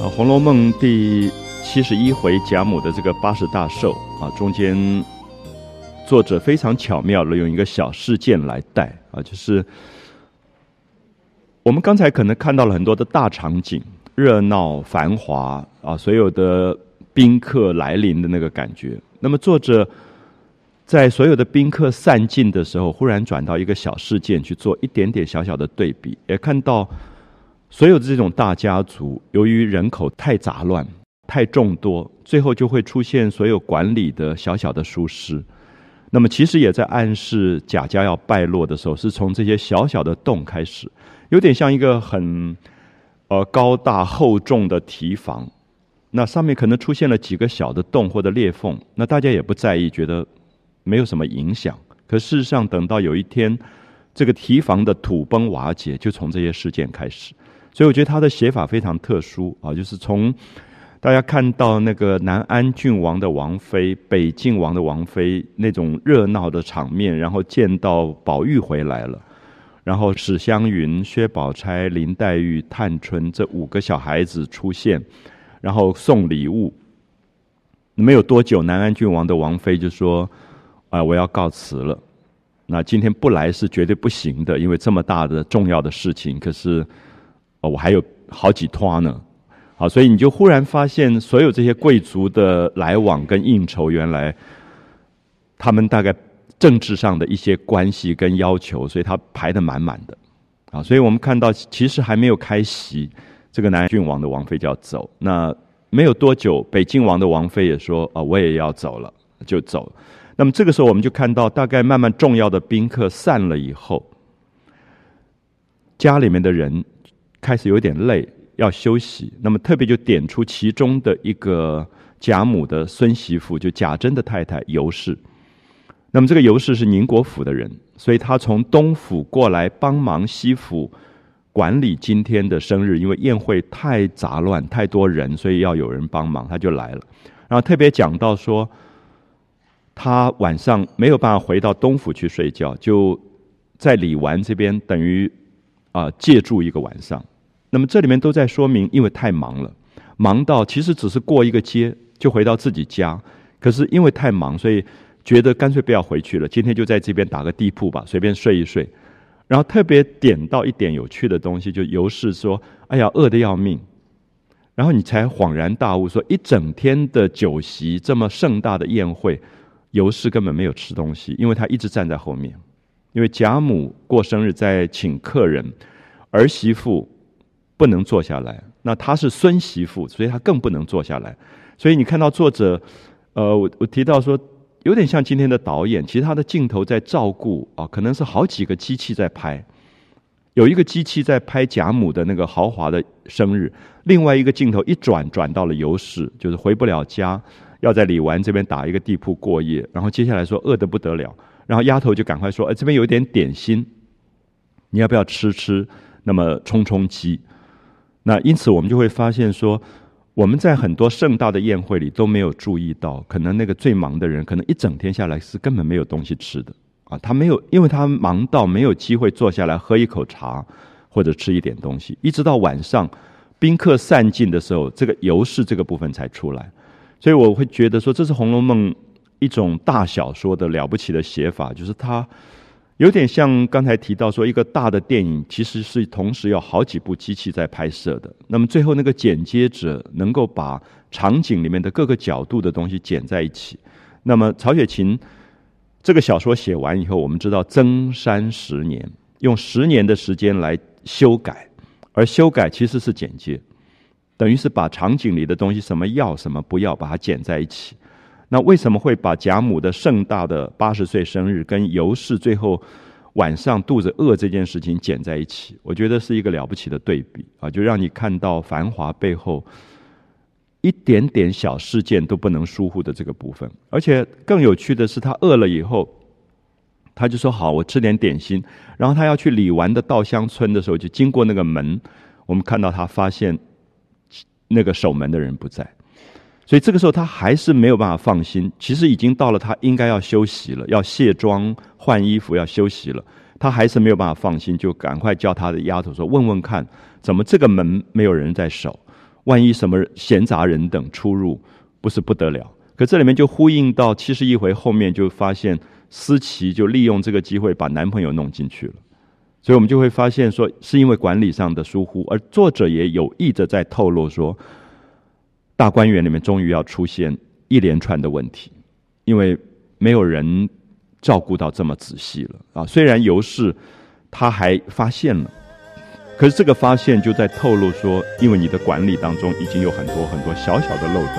红楼梦》第71回贾母的这个80大寿啊，中间作者非常巧妙的用一个小事件来带啊，就是我们刚才可能看到了很多的大场景，热闹繁华啊，所有的宾客来临的那个感觉。那么作者在所有的宾客散尽的时候，忽然转到一个小事件去做一点点小小的对比，也看到所有的这种大家族，由于人口太杂乱、太众多，最后就会出现所有管理的小小的疏失。那么其实也在暗示贾家要败落的时候，是从这些小小的洞开始，有点像一个很高大厚重的堤防，那上面可能出现了几个小的洞或者裂缝，那大家也不在意，觉得没有什么影响。可事实上，等到有一天这个堤防的土崩瓦解，就从这些事件开始。所以我觉得他的写法非常特殊啊，就是从大家看到那个南安郡王的王妃、北晋王的王妃那种热闹的场面，然后见到宝玉回来了，然后史湘云、薛宝钗、林黛玉、探春这5个小孩子出现，然后送礼物。没有多久，南安郡王的王妃就说：“我要告辞了。那今天不来是绝对不行的，因为这么大的重要的事情。可是我还有好几拖呢。”好，所以你就忽然发现，所有这些贵族的来往跟应酬，原来他们大概政治上的一些关系跟要求，所以他排得满满的。啊，所以我们看到，其实还没有开席，这个南安郡王的王妃就要走。那没有多久，北晋王的王妃也说：“我也要走了。”就走了。那么这个时候，我们就看到，大概慢慢重要的宾客散了以后，家里面的人开始有点累，要休息。那么特别就点出其中的一个贾母的孙媳妇，就贾珍的太太尤氏。那么这个尤氏是宁国府的人，所以她从东府过来帮忙西府管理今天的生日，因为宴会太杂乱太多人，所以要有人帮忙，她就来了。然后特别讲到说，她晚上没有办法回到东府去睡觉，就在李纨这边等于借住一个晚上。那么这里面都在说明，因为太忙了，忙到其实只是过一个街就回到自己家，可是因为太忙，所以觉得干脆不要回去了，今天就在这边打个地铺吧，随便睡一睡。然后特别点到一点有趣的东西，就尤氏说：“哎呀，饿得要命。”然后你才恍然大悟，说一整天的酒席，这么盛大的宴会，尤氏根本没有吃东西，因为他一直站在后面。因为贾母过生日在请客人，儿媳妇不能坐下来，那她是孙媳妇，所以她更不能坐下来。所以你看到作者，我提到说，有点像今天的导演，其实他的镜头在照顾可能是好几个机器在拍，有一个机器在拍贾母的那个豪华的生日，另外一个镜头一转到了尤氏，就是回不了家，要在李纨这边打一个地铺过夜，然后接下来说饿得不得了，然后丫头就赶快说：“这边有一点点心，你要不要吃？那么充饥。”那因此我们就会发现说，我们在很多盛大的宴会里都没有注意到，可能那个最忙的人，可能一整天下来是根本没有东西吃的他没有，因为他忙到没有机会坐下来喝一口茶或者吃一点东西，一直到晚上宾客散尽的时候，这个尤氏这个部分才出来。所以我会觉得说，这是《红楼梦》一种大小说的了不起的写法，就是它有点像刚才提到说，一个大的电影其实是同时有好几部机器在拍摄的，那么最后那个剪接者能够把场景里面的各个角度的东西剪在一起。那么曹雪芹这个小说写完以后，我们知道增删10年，用10年的时间来修改，而修改其实是剪接，等于是把场景里的东西什么要什么不要把它剪在一起。那为什么会把贾母的盛大的80岁生日跟尤氏最后晚上肚子饿这件事情剪在一起？我觉得是一个了不起的对比就让你看到繁华背后一点点小事件都不能疏忽的这个部分。而且更有趣的是，他饿了以后，他就说：“好，我吃点点心。”然后他要去李纨的稻香村的时候，就经过那个门，我们看到他发现那个守门的人不在。所以这个时候他还是没有办法放心，其实已经到了他应该要休息了，要卸妆换衣服要休息了，他还是没有办法放心，就赶快叫他的丫头说：“问问看，怎么这个门没有人在守？ 万一什么闲杂人等出入，不是不得了。可这里面就呼应到71回后面，就发现思琪就利用这个机会把男朋友弄进去了。所以我们就会发现说，是因为管理上的疏忽，而作者也有意的在透露说，大观园里面终于要出现一连串的问题，因为没有人照顾到这么仔细了啊。虽然尤氏他还发现了，可是这个发现就在透露说，因为你的管理当中已经有很多很多小小的漏洞。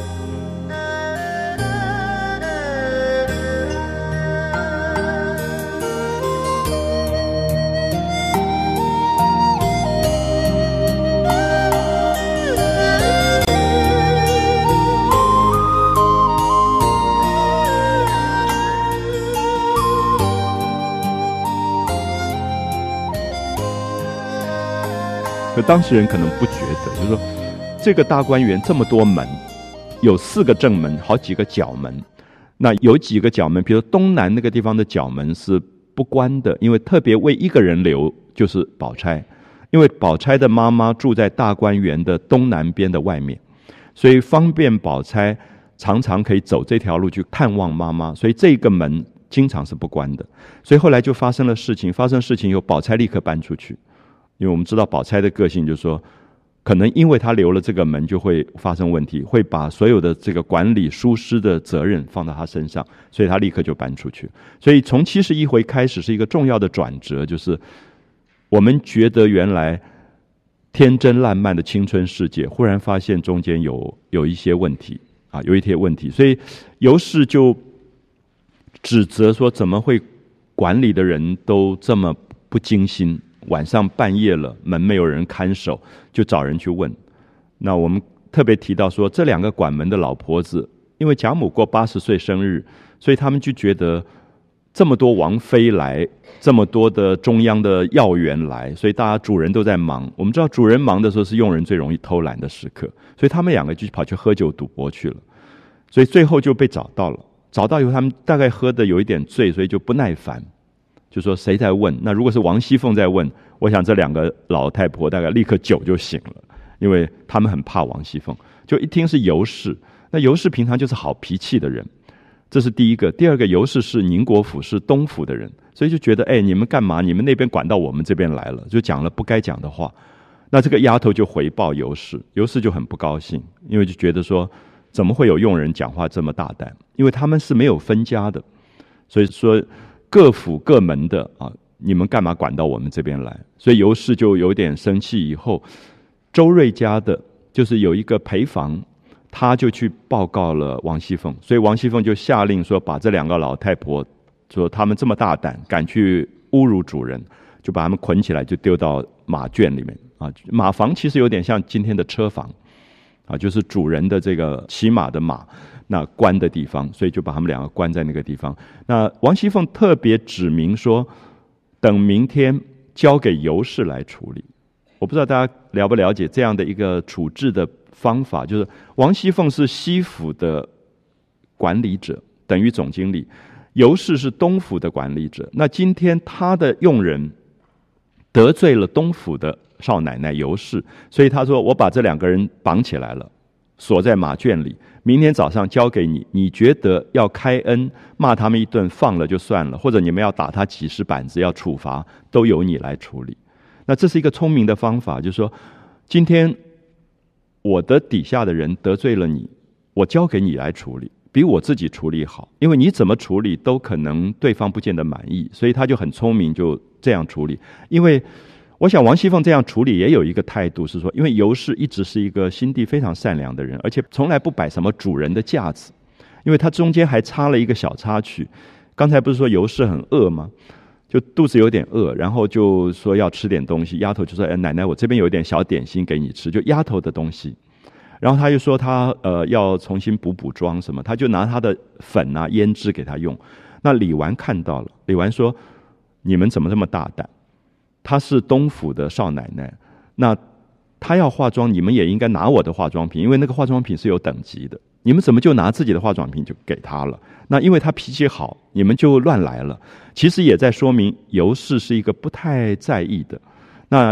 可当事人可能不觉得，就是说这个大观园这么多门，有4个正门，好几个角门。那有几个角门，比如东南那个地方的角门是不关的，因为特别为一个人留，就是宝钗。因为宝钗的妈妈住在大观园的东南边的外面，所以方便宝钗常常可以走这条路去探望妈妈，所以这个门经常是不关的。所以后来就发生了事情，发生事情以后，宝钗立刻搬出去。因为我们知道宝钗的个性就是说，可能因为她留了这个门就会发生问题，会把所有的这个管理疏失的责任放到她身上，所以她立刻就搬出去。所以从71回开始是一个重要的转折，就是我们觉得原来天真烂漫的青春世界，忽然发现中间有一些问题啊，有一些问题。所以尤氏就指责说，怎么会管理的人都这么不精心，晚上半夜了，门没有人看守，就找人去问。那我们特别提到说，这2个管门的老婆子，因为贾母过80岁生日，所以他们就觉得这么多王妃来，这么多的中央的要员来，所以大家主人都在忙。我们知道主人忙的时候是佣人最容易偷懒的时刻，所以他们2个就跑去喝酒赌博去了。所以最后就被找到了，找到以后他们大概喝的有一点醉，所以就不耐烦，就说谁在问？那如果是王熙凤在问，我想这2个老太婆大概立刻酒就醒了，因为他们很怕王熙凤。就一听是尤氏，那尤氏平常就是好脾气的人，这是第一个。第二个，尤氏是宁国府是东府的人，所以就觉得你们干嘛？你们那边管到我们这边来了，就讲了不该讲的话。那这个丫头就回报尤氏，尤氏就很不高兴，因为就觉得说，怎么会有佣人讲话这么大胆？因为他们是没有分家的，所以说各府各门的啊，你们干嘛管到我们这边来？所以尤氏就有点生气。以后周瑞家的就是有一个陪房，他就去报告了王熙凤，所以王熙凤就下令说，把这2个老太婆说他们这么大胆，敢去侮辱主人，就把他们捆起来，就丢到马圈里面啊。马房其实有点像今天的车房啊，就是主人的这个骑马的马那关的地方，所以就把他们2个关在那个地方。那王熙凤特别指明说，等明天交给尤氏来处理。我不知道大家了不了解这样的一个处置的方法，就是王熙凤是西府的管理者，等于总经理，尤氏是东府的管理者。那今天他的佣人得罪了东府的少奶奶尤氏，所以他说，我把这2个人绑起来了，锁在马圈里，明天早上交给你，你觉得要开恩骂他们一顿放了就算了，或者你们要打他几十板子要处罚，都由你来处理。那这是一个聪明的方法，就是说今天我的底下的人得罪了你，我交给你来处理，比我自己处理好，因为你怎么处理都可能对方不见得满意，所以他就很聪明，就这样处理。因为我想王熙凤这样处理也有一个态度，是说因为尤氏一直是一个心地非常善良的人，而且从来不摆什么主人的架子，因为他中间还插了一个小插曲。刚才不是说尤氏很饿吗？就肚子有点饿，然后就说要吃点东西，丫头就说，奶奶我这边有一点小点心给你吃，就丫头的东西。然后他又说他要重新补妆什么，他就拿他的粉啊胭脂给他用。那李纨看到了，李纨说，你们怎么这么大胆？她是东府的少奶奶，那她要化妆，你们也应该拿我的化妆品，因为那个化妆品是有等级的，你们怎么就拿自己的化妆品就给她了？那因为她脾气好，你们就乱来了。其实也在说明尤氏是一个不太在意的。那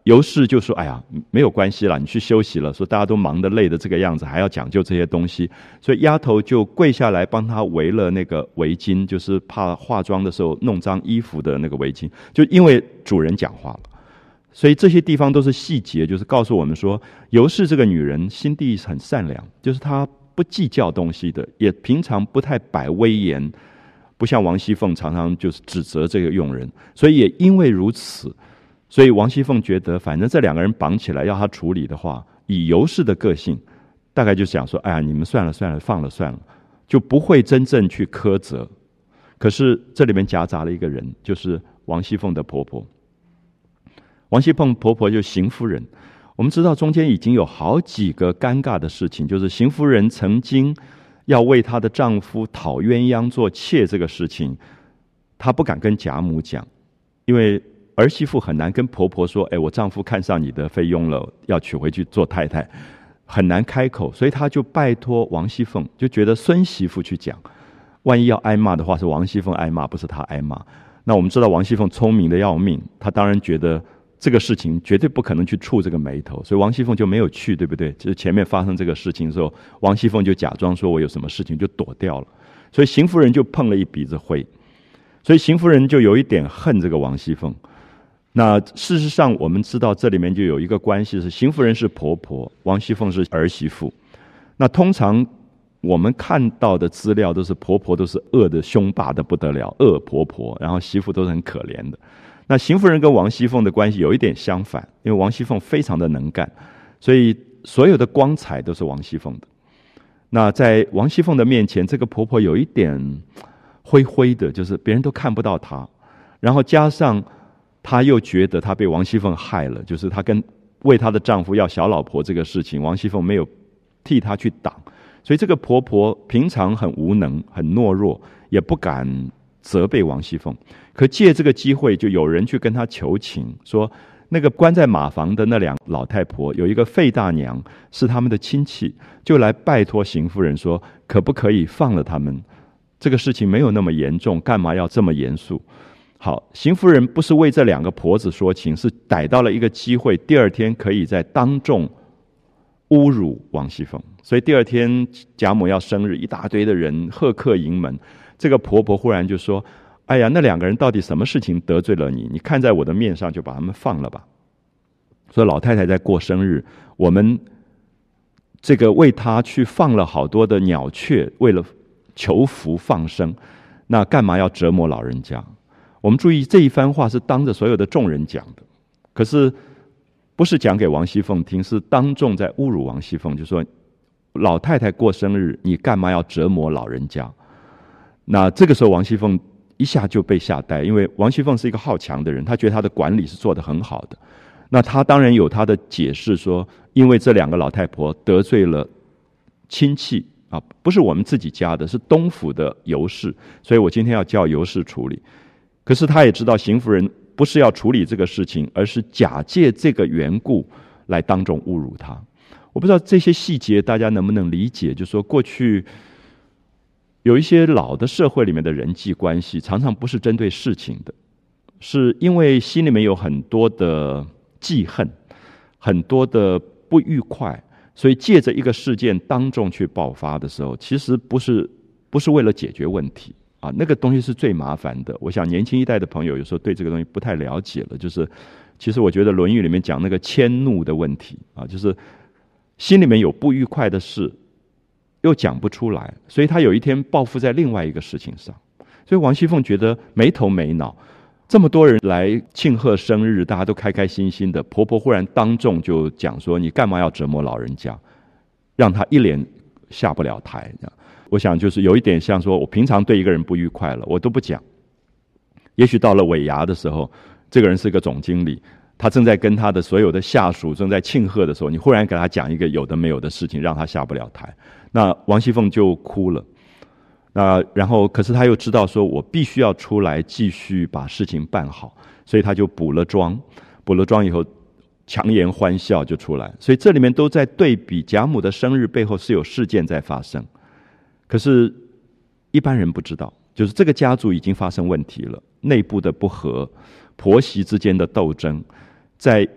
尤氏就说：“哎呀，没有关系啦，你去休息了。”说大家都忙得累的这个样子，还要讲究这些东西，所以丫头就跪下来帮他围了那个围巾，就是怕化妆的时候弄脏衣服的那个围巾。就因为主人讲话了，所以这些地方都是细节，就是告诉我们说，尤氏这个女人心地很善良，就是她不计较东西的，也平常不太摆威严，不像王熙凤常常就是指责这个佣人。所以也因为如此，所以王熙凤觉得，反正这两个人绑起来要他处理的话，以尤氏的个性，大概就想说：“哎呀，你们算了算了，放了算了，就不会真正去苛责。”可是这里面夹杂了一个人，就是王熙凤的婆婆。王熙凤婆婆就邢夫人。我们知道中间已经有好几个尴尬的事情，就是邢夫人曾经要为她的丈夫讨鸳鸯做妾这个事情，她不敢跟贾母讲，因为儿媳妇很难跟婆婆说：“哎，我丈夫看上你的菲佣了，要娶回去做太太。”很难开口，所以她就拜托王熙凤，就觉得孙媳妇去讲，万一要挨骂的话，是王熙凤挨骂，不是她挨骂。那我们知道王熙凤聪明的要命，她当然觉得这个事情绝对不可能去触这个眉头，所以王熙凤就没有去，对不对？就是前面发生这个事情的时候，王熙凤就假装说我有什么事情，就躲掉了。所以邢夫人就碰了一鼻子灰，所以邢夫人就有一点恨这个王熙凤。那事实上我们知道这里面就有一个关系，是邢夫人是婆婆，王熙凤是儿媳妇。那通常我们看到的资料都是婆婆都是恶的凶霸的不得了，恶婆婆，然后媳妇都是很可怜的。那邢夫人跟王熙凤的关系有一点相反，因为王熙凤非常的能干，所以所有的光彩都是王熙凤的。那在王熙凤的面前，这个婆婆有一点灰灰的，就是别人都看不到她，然后加上她又觉得她被王熙凤害了，就是她跟为她的丈夫要小老婆这个事情，王熙凤没有替她去挡，所以这个婆婆平常很无能很懦弱，也不敢责备王熙凤。可借这个机会，就有人去跟她求情，说那个关在马房的那两老太婆，有一个费大娘是他们的亲戚，就来拜托邢夫人说，可不可以放了他们？这个事情没有那么严重，干嘛要这么严肃？好，邢夫人不是为这两个婆子说情，是逮到了一个机会，第二天可以在当众侮辱王熙凤。所以第二天贾母要生日，一大堆的人贺客迎门，这个婆婆忽然就说：“哎呀，那两个人到底什么事情得罪了你？你看在我的面上，就把他们放了吧。”说老太太在过生日，我们这个为她去放了好多的鸟雀，为了求福放生，那干嘛要折磨老人家？我们注意这一番话是当着所有的众人讲的，可是不是讲给王熙凤听，是当众在侮辱王熙凤，就说老太太过生日，你干嘛要折磨老人家？那这个时候王熙凤一下就被吓呆，因为王熙凤是一个好强的人，她觉得她的管理是做得很好的。那她当然有她的解释说，因为这两个老太婆得罪了亲戚啊，不是我们自己家的，是东府的尤氏，所以我今天要叫尤氏处理。可是她也知道邢夫人不是要处理这个事情，而是假借这个缘故来当众侮辱她。我不知道这些细节大家能不能理解，就是说过去有一些老的社会里面的人际关系，常常不是针对事情的，是因为心里面有很多的记恨，很多的不愉快，所以借着一个事件当众去爆发的时候，其实不是为了解决问题啊，那个东西是最麻烦的。我想年轻一代的朋友有时候对这个东西不太了解了，就是其实我觉得《论语》里面讲那个迁怒的问题啊，就是心里面有不愉快的事又讲不出来，所以他有一天报复在另外一个事情上。所以王熙凤觉得没头没脑，这么多人来庆贺生日，大家都开开心心的，婆婆忽然当众就讲说，你干嘛要折磨老人家，让她一脸下不了台。我想就是有一点像说，我平常对一个人不愉快了，我都不讲，也许到了尾牙的时候，这个人是个总经理，他正在跟他的所有的下属正在庆贺的时候，你忽然给他讲一个有的没有的事情，让他下不了台，那王熙凤就哭了。那然后可是他又知道说，我必须要出来继续把事情办好，所以他就补了妆以后强颜欢笑就出来。所以这里面都在对比贾母的生日背后是有事件在发生，可是一般人不知道，就是这个家族已经发生问题了，内部的不和，婆媳之间的斗争，在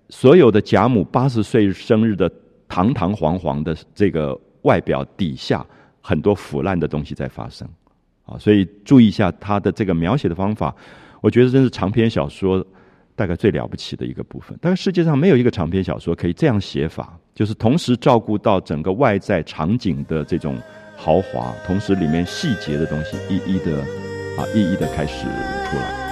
所有的贾母80岁生日的堂堂皇皇的这个外表底下，很多腐烂的东西在发生啊，所以注意一下他的这个描写的方法，我觉得真是长篇小说大概最了不起的一个部分。大概世界上没有一个长篇小说可以这样写法，就是同时照顾到整个外在场景的这种豪华，同时里面细节的东西一一的开始出来。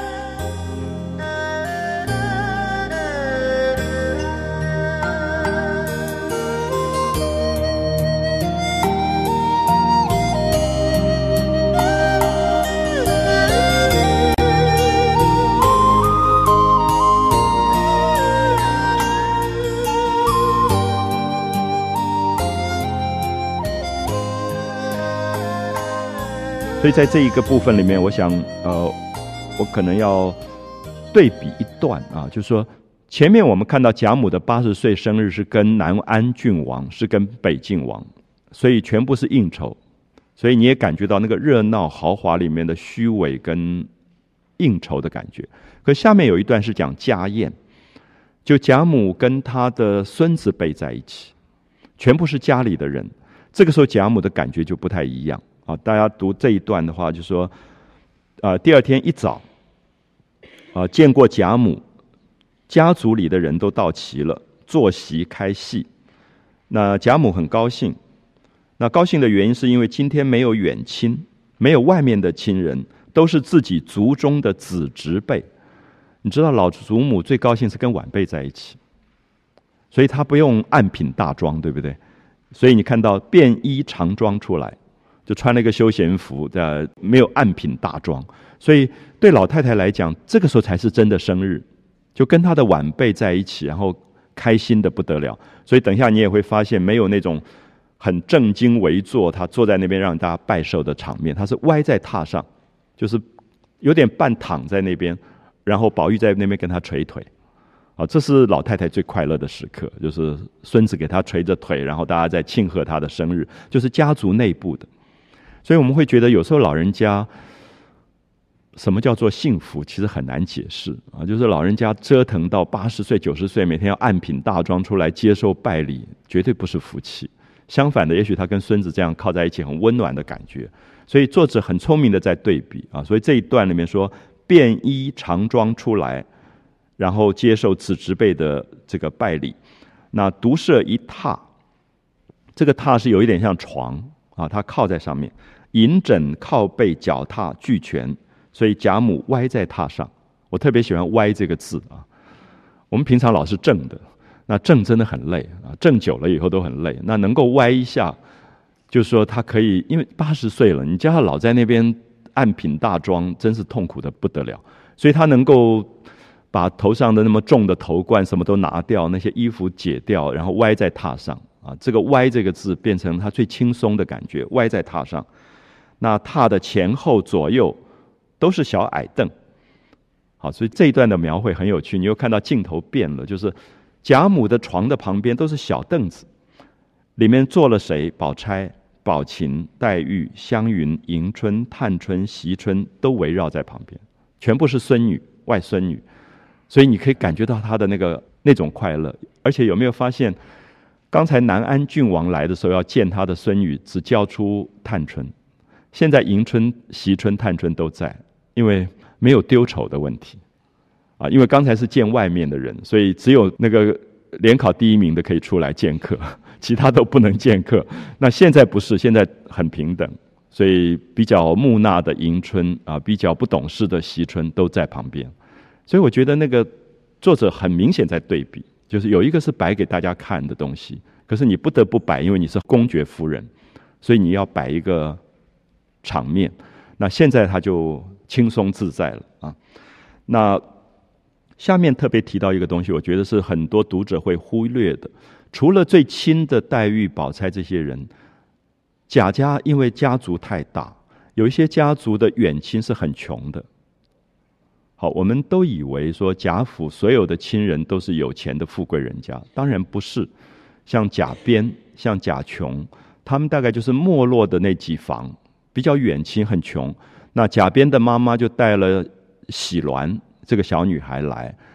所以在这一个部分里面，我想我可能要对比一段啊，就是说前面我们看到贾母的80岁生日是跟南安郡王，是跟北晋王，所以全部是应酬，所以你也感觉到那个热闹豪华里面的虚伪跟应酬的感觉。可下面有一段是讲家宴，就贾母跟她的孙子辈在一起，全部是家里的人，这个时候贾母的感觉就不太一样啊。大家读这一段的话，就说第二天一早见过贾母，家族里的人都到齐了，坐席开戏。那贾母很高兴，那高兴的原因是因为今天没有远亲，没有外面的亲人，都是自己族中的子侄辈。你知道老祖母最高兴是跟晚辈在一起，所以她不用暗品大装，对不对？所以你看到便衣长装出来，就穿了一个休闲服，没有暗品大装。所以对老太太来讲，这个时候才是真的生日，就跟她的晚辈在一起，然后开心的不得了。所以等一下你也会发现，没有那种很正襟危坐，她坐在那边让大家拜寿的场面，她是歪在榻上，就是有点半躺在那边，然后宝玉在那边跟她捶腿。这是老太太最快乐的时刻，就是孙子给她捶着腿，然后大家在庆贺她的生日，就是家族内部的。所以我们会觉得有时候老人家什么叫做幸福，其实很难解释啊。就是老人家折腾到80岁、90岁，每天要暗品大装出来接受拜礼，绝对不是福气。相反的，也许他跟孙子这样靠在一起，很温暖的感觉。所以作者很聪明的在对比啊。所以这一段里面说，便衣长装出来，然后接受子侄辈的这个拜礼。那独设一榻，这个榻是有一点像床啊，他靠在上面，银枕靠背脚踏俱全。所以贾母歪在榻上，我特别喜欢歪这个字啊。我们平常老是正的，那正真的很累啊，正久了以后都很累。那能够歪一下，就是说他可以，因为80岁了，你叫他老在那边暗品大装，真是痛苦的不得了。所以他能够把头上的那么重的头冠什么都拿掉，那些衣服解掉，然后歪在榻上啊。这个歪这个字变成他最轻松的感觉，歪在榻上。那榻的前后左右都是小矮凳，好，所以这一段的描绘很有趣。你又看到镜头变了，就是贾母的床的旁边都是小凳子，里面坐了谁？宝钗、宝琴、黛玉、湘云、迎春、探春、惜春都围绕在旁边，全部是孙女、外孙女，所以你可以感觉到她的那种快乐。而且有没有发现，刚才南安郡王来的时候要见他的孙女，只叫出探春，现在迎春、惜春、探春都在。因为没有丢丑的问题啊，因为刚才是见外面的人，所以只有那个联考第1名的可以出来见客，其他都不能见客。那现在不是，现在很平等，所以比较木讷的迎春啊，比较不懂事的惜春都在旁边。所以我觉得那个作者很明显在对比，就是有一个是摆给大家看的东西，可是你不得不摆，因为你是公爵夫人，所以你要摆一个场面。那现在他就轻松自在了啊。那下面特别提到一个东西，我觉得是很多读者会忽略的。除了最亲的黛玉、宝钗这些人，贾家因为家族太大，有一些家族的远亲是很穷的。好，我们都以为说贾府所有的亲人都是有钱的富贵人家，当然不是。像贾边、像贾琼，他们大概就是没落的那几房，比较远亲，很穷。那贾边的妈妈就带了喜鸾这个小女孩来，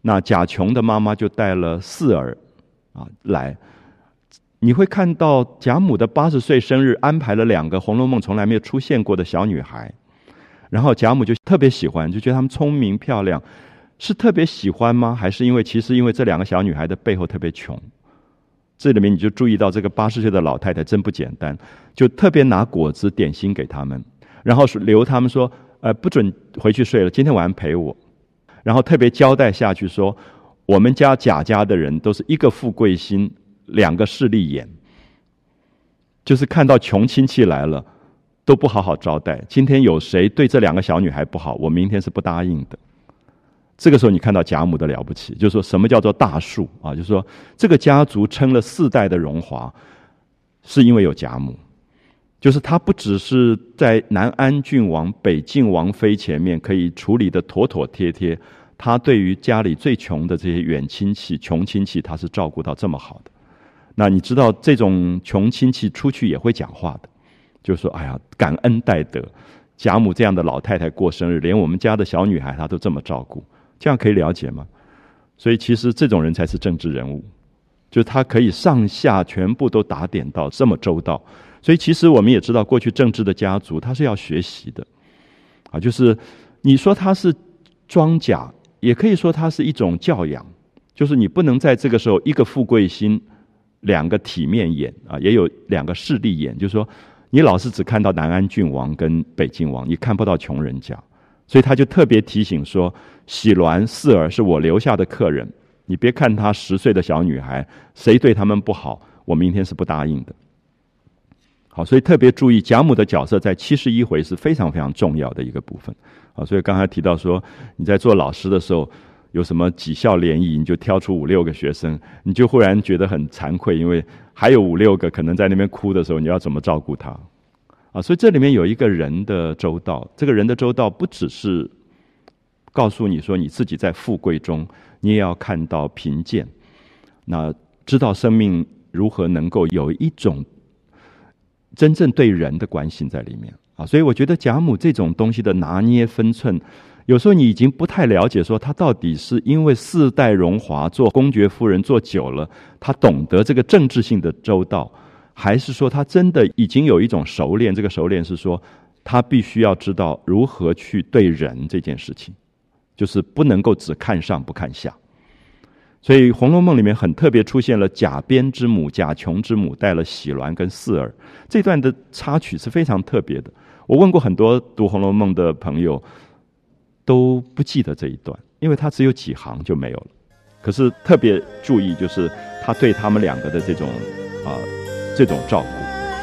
那贾琼的妈妈就带了四儿来。你会看到贾母的80岁生日安排了2个《红楼梦》从来没有出现过的小女孩，然后贾母就特别喜欢，就觉得她们聪明漂亮。是特别喜欢吗？还是因为这2个小女孩的背后特别穷？这里面你就注意到这个80岁的老太太真不简单，就特别拿果子点心给他们，然后留他们说不准回去睡了，今天晚上陪我。然后特别交代下去说，我们家贾家的人都是1个富贵心，2个势利眼，就是看到穷亲戚来了都不好好招待，今天有谁对这2个小女孩不好，我明天是不答应的。这个时候你看到贾母的了不起，就是说什么叫做大树就是说这个家族撑了4代的荣华，是因为有贾母。就是他不只是在南安郡王、北晋王妃前面可以处理的妥妥帖帖，他对于家里最穷的这些远亲戚、穷亲戚，他是照顾到这么好的。那你知道这种穷亲戚出去也会讲话的，就是说哎呀，感恩戴德，贾母这样的老太太过生日，连我们家的小女孩她都这么照顾，这样可以了解吗？所以其实这种人才是政治人物，就是他可以上下全部都打点到这么周到。所以其实我们也知道，过去政治的家族他是要学习的就是你说他是装甲，也可以说他是一种教养，就是你不能在这个时候1个富贵心，2个体面眼也有2个势利眼，就是说你老是只看到南安郡王跟北晋王，你看不到穷人家。所以他就特别提醒说，喜鸾、四儿是我留下的客人，你别看她10岁的小女孩，谁对他们不好，我明天是不答应的。好，所以特别注意贾母的角色在71回是非常非常重要的一个部分。好，所以刚才提到说，你在做老师的时候，有什么几校联谊，你就挑出5、6个学生，你就忽然觉得很惭愧，因为还有5、6个可能在那边哭的时候，你要怎么照顾他？所以这里面有一个人的周到，这个人的周到不只是告诉你说你自己在富贵中，你也要看到贫贱，那知道生命如何能够有一种真正对人的关心在里面所以我觉得贾母这种东西的拿捏分寸，有时候你已经不太了解说她到底是因为4代荣华做公爵夫人做久了，她懂得这个政治性的周到，还是说她真的已经有一种熟练，这个熟练是说她必须要知道如何去对人这件事情，就是不能够只看上不看下。所以《红楼梦》里面很特别出现了贾编之母、贾琼之母带了喜鸾跟四儿，这段的插曲是非常特别的。我问过很多读《红楼梦》的朋友，都不记得这一段，因为它只有几行就没有了。可是特别注意，就是他对他们2个的这种照顾。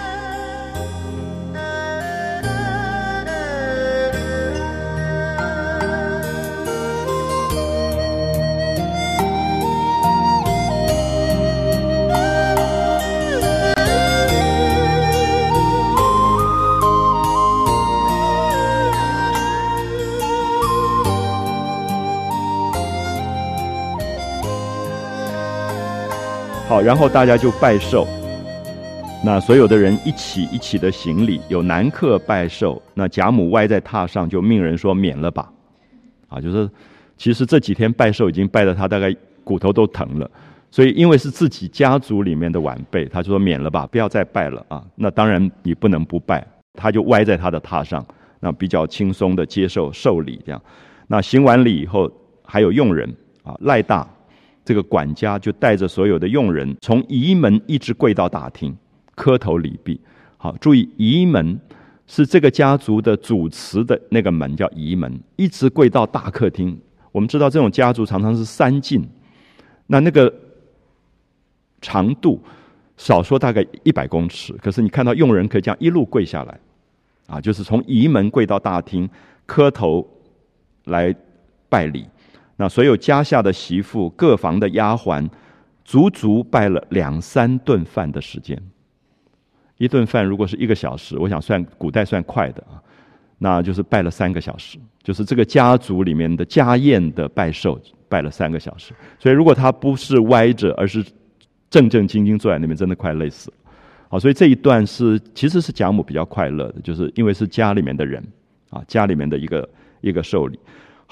好，然后大家就拜寿，那所有的人一起的行礼，有男客拜寿，那贾母歪在榻上，就命人说免了吧，就是其实这几天拜寿已经拜得他大概骨头都疼了，所以因为是自己家族里面的晚辈，他就说免了吧，不要再拜了那当然你不能不拜，他就歪在他的榻上，那比较轻松的接受寿礼这样。那行完礼以后，还有佣人赖大这个管家就带着所有的佣人从仪门一直跪到大厅磕头礼毕。好，注意仪门是这个家族的主祠的那个门叫仪门，一直跪到大客厅。我们知道这种家族常常是3进，那个长度少说大概100公尺，可是你看到佣人可以这样一路跪下来就是从仪门跪到大厅磕头来拜礼。那所有家下的媳妇、各房的丫鬟，足足拜了2、3顿饭的时间。一顿饭如果是1个小时，我想古代算快的那就是拜了3个小时，就是这个家族里面的家宴的拜寿拜了3个小时。所以如果他不是歪着，而是正正经经坐在那边，真的快累死了。所以这一段其实是贾母比较快乐的，就是因为是家里面的人家里面的一个寿礼。好，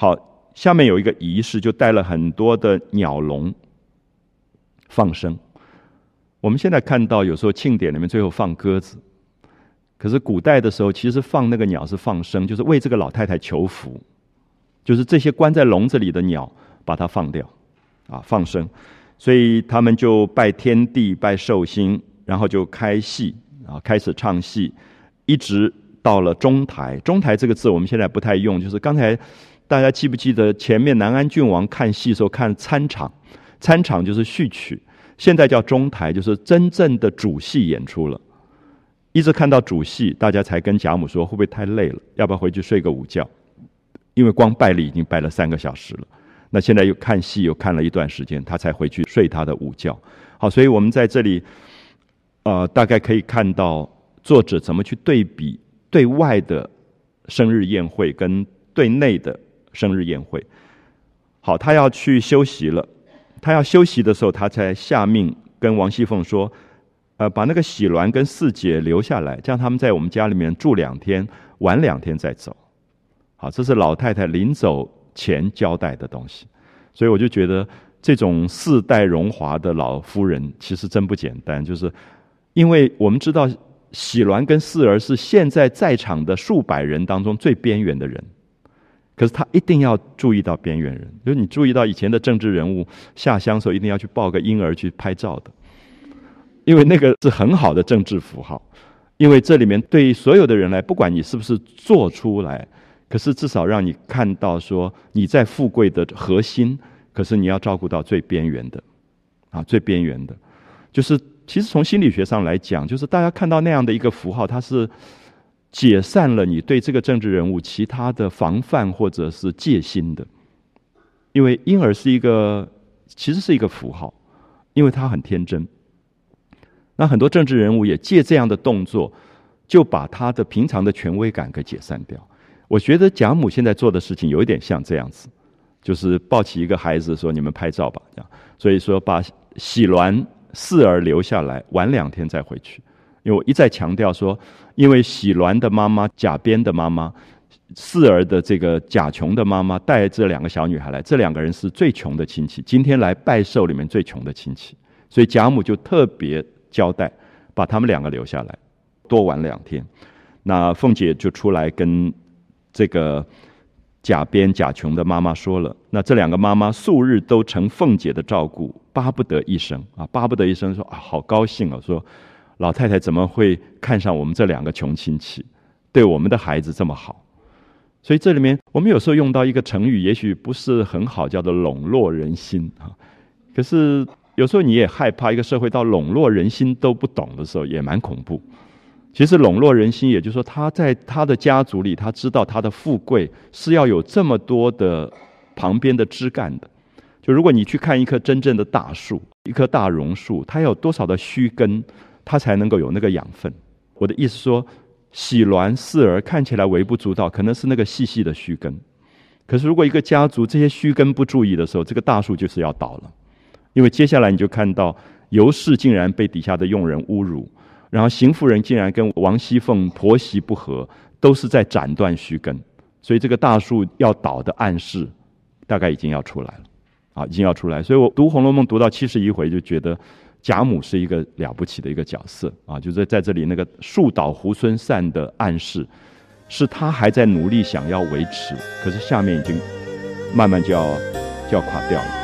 下面有一个仪式，就带了很多的鸟笼放生。我们现在看到有时候庆典里面最后放鸽子，可是古代的时候其实放那个鸟是放生，就是为这个老太太求福，就是这些关在笼子里的鸟把它放掉放生。所以他们就拜天地拜寿星，然后就开戏开始唱戏，一直到了中台。中台这个字我们现在不太用，就是刚才大家记不记得前面南安郡王看戏的时候看参场，参场就是序曲，现在叫中台，就是真正的主戏演出了。一直看到主戏，大家才跟贾母说会不会太累了，要不要回去睡个午觉，因为光拜礼已经拜了3个小时了。那现在又看戏又看了一段时间，他才回去睡他的午觉。好，所以我们在这里大概可以看到作者怎么去对比对外的生日宴会跟对内的生日宴会。好，他要去休息了，他要休息的时候，他才下命跟王熙凤说把那个喜鸾跟四姐留下来，这样他们在我们家里面住2天，晚2天再走。好，这是老太太临走前交代的东西。所以我就觉得这种4代荣华的老夫人其实真不简单，就是因为我们知道喜鸾跟四儿是现在在场的数百人当中最边缘的人，可是他一定要注意到边缘人，就是你注意到以前的政治人物下乡的时候一定要去抱个婴儿去拍照的，因为那个是很好的政治符号。因为这里面对所有的人来，不管你是不是做出来，可是至少让你看到说你在富贵的核心，可是你要照顾到最边缘的最边缘的。就是其实从心理学上来讲，就是大家看到那样的一个符号，它是解散了你对这个政治人物其他的防范或者是戒心的。因为婴儿是其实是一个符号，因为他很天真。那很多政治人物也借这样的动作，就把他的平常的权威感给解散掉。我觉得贾母现在做的事情有一点像这样子，就是抱起一个孩子说你们拍照吧，这样。所以说把喜鸾四儿留下来，晚2天再回去。因为我一再强调说，因为喜鸾的妈妈贾编的妈妈，四儿的这个贾琼的妈妈带这2个小女孩来，这2个人是最穷的亲戚，今天来拜寿里面最穷的亲戚，所以贾母就特别交代把他们2个留下来，多玩2天。那凤姐就出来跟这个贾编贾琼的妈妈说了，那这2个妈妈素日都承凤姐的照顾，巴不得一生巴不得一生，说好高兴说老太太怎么会看上我们这2个穷亲戚，对我们的孩子这么好。所以这里面我们有时候用到一个成语，也许不是很好，叫做笼络人心可是有时候你也害怕一个社会到笼络人心都不懂的时候，也蛮恐怖。其实笼络人心，也就是说他在他的家族里，他知道他的富贵是要有这么多的旁边的枝干的。就如果你去看一棵真正的大树，一棵大榕树，它有多少的须根，它才能够有那个养分。我的意思说，喜鸾四儿看起来微不足道，可能是那个细细的须根，可是如果一个家族这些须根不注意的时候，这个大树就是要倒了。因为接下来你就看到尤氏竟然被底下的佣人侮辱，然后邢夫人竟然跟王熙凤婆媳不和，都是在斩断须根，所以这个大树要倒的暗示大概已经要出来了已经要出来。所以我读《红楼梦》读到71回，就觉得贾母是一个了不起的一个角色就是在这里那个树倒猢狲散的暗示，是他还在努力想要维持，可是下面已经慢慢就要垮掉了。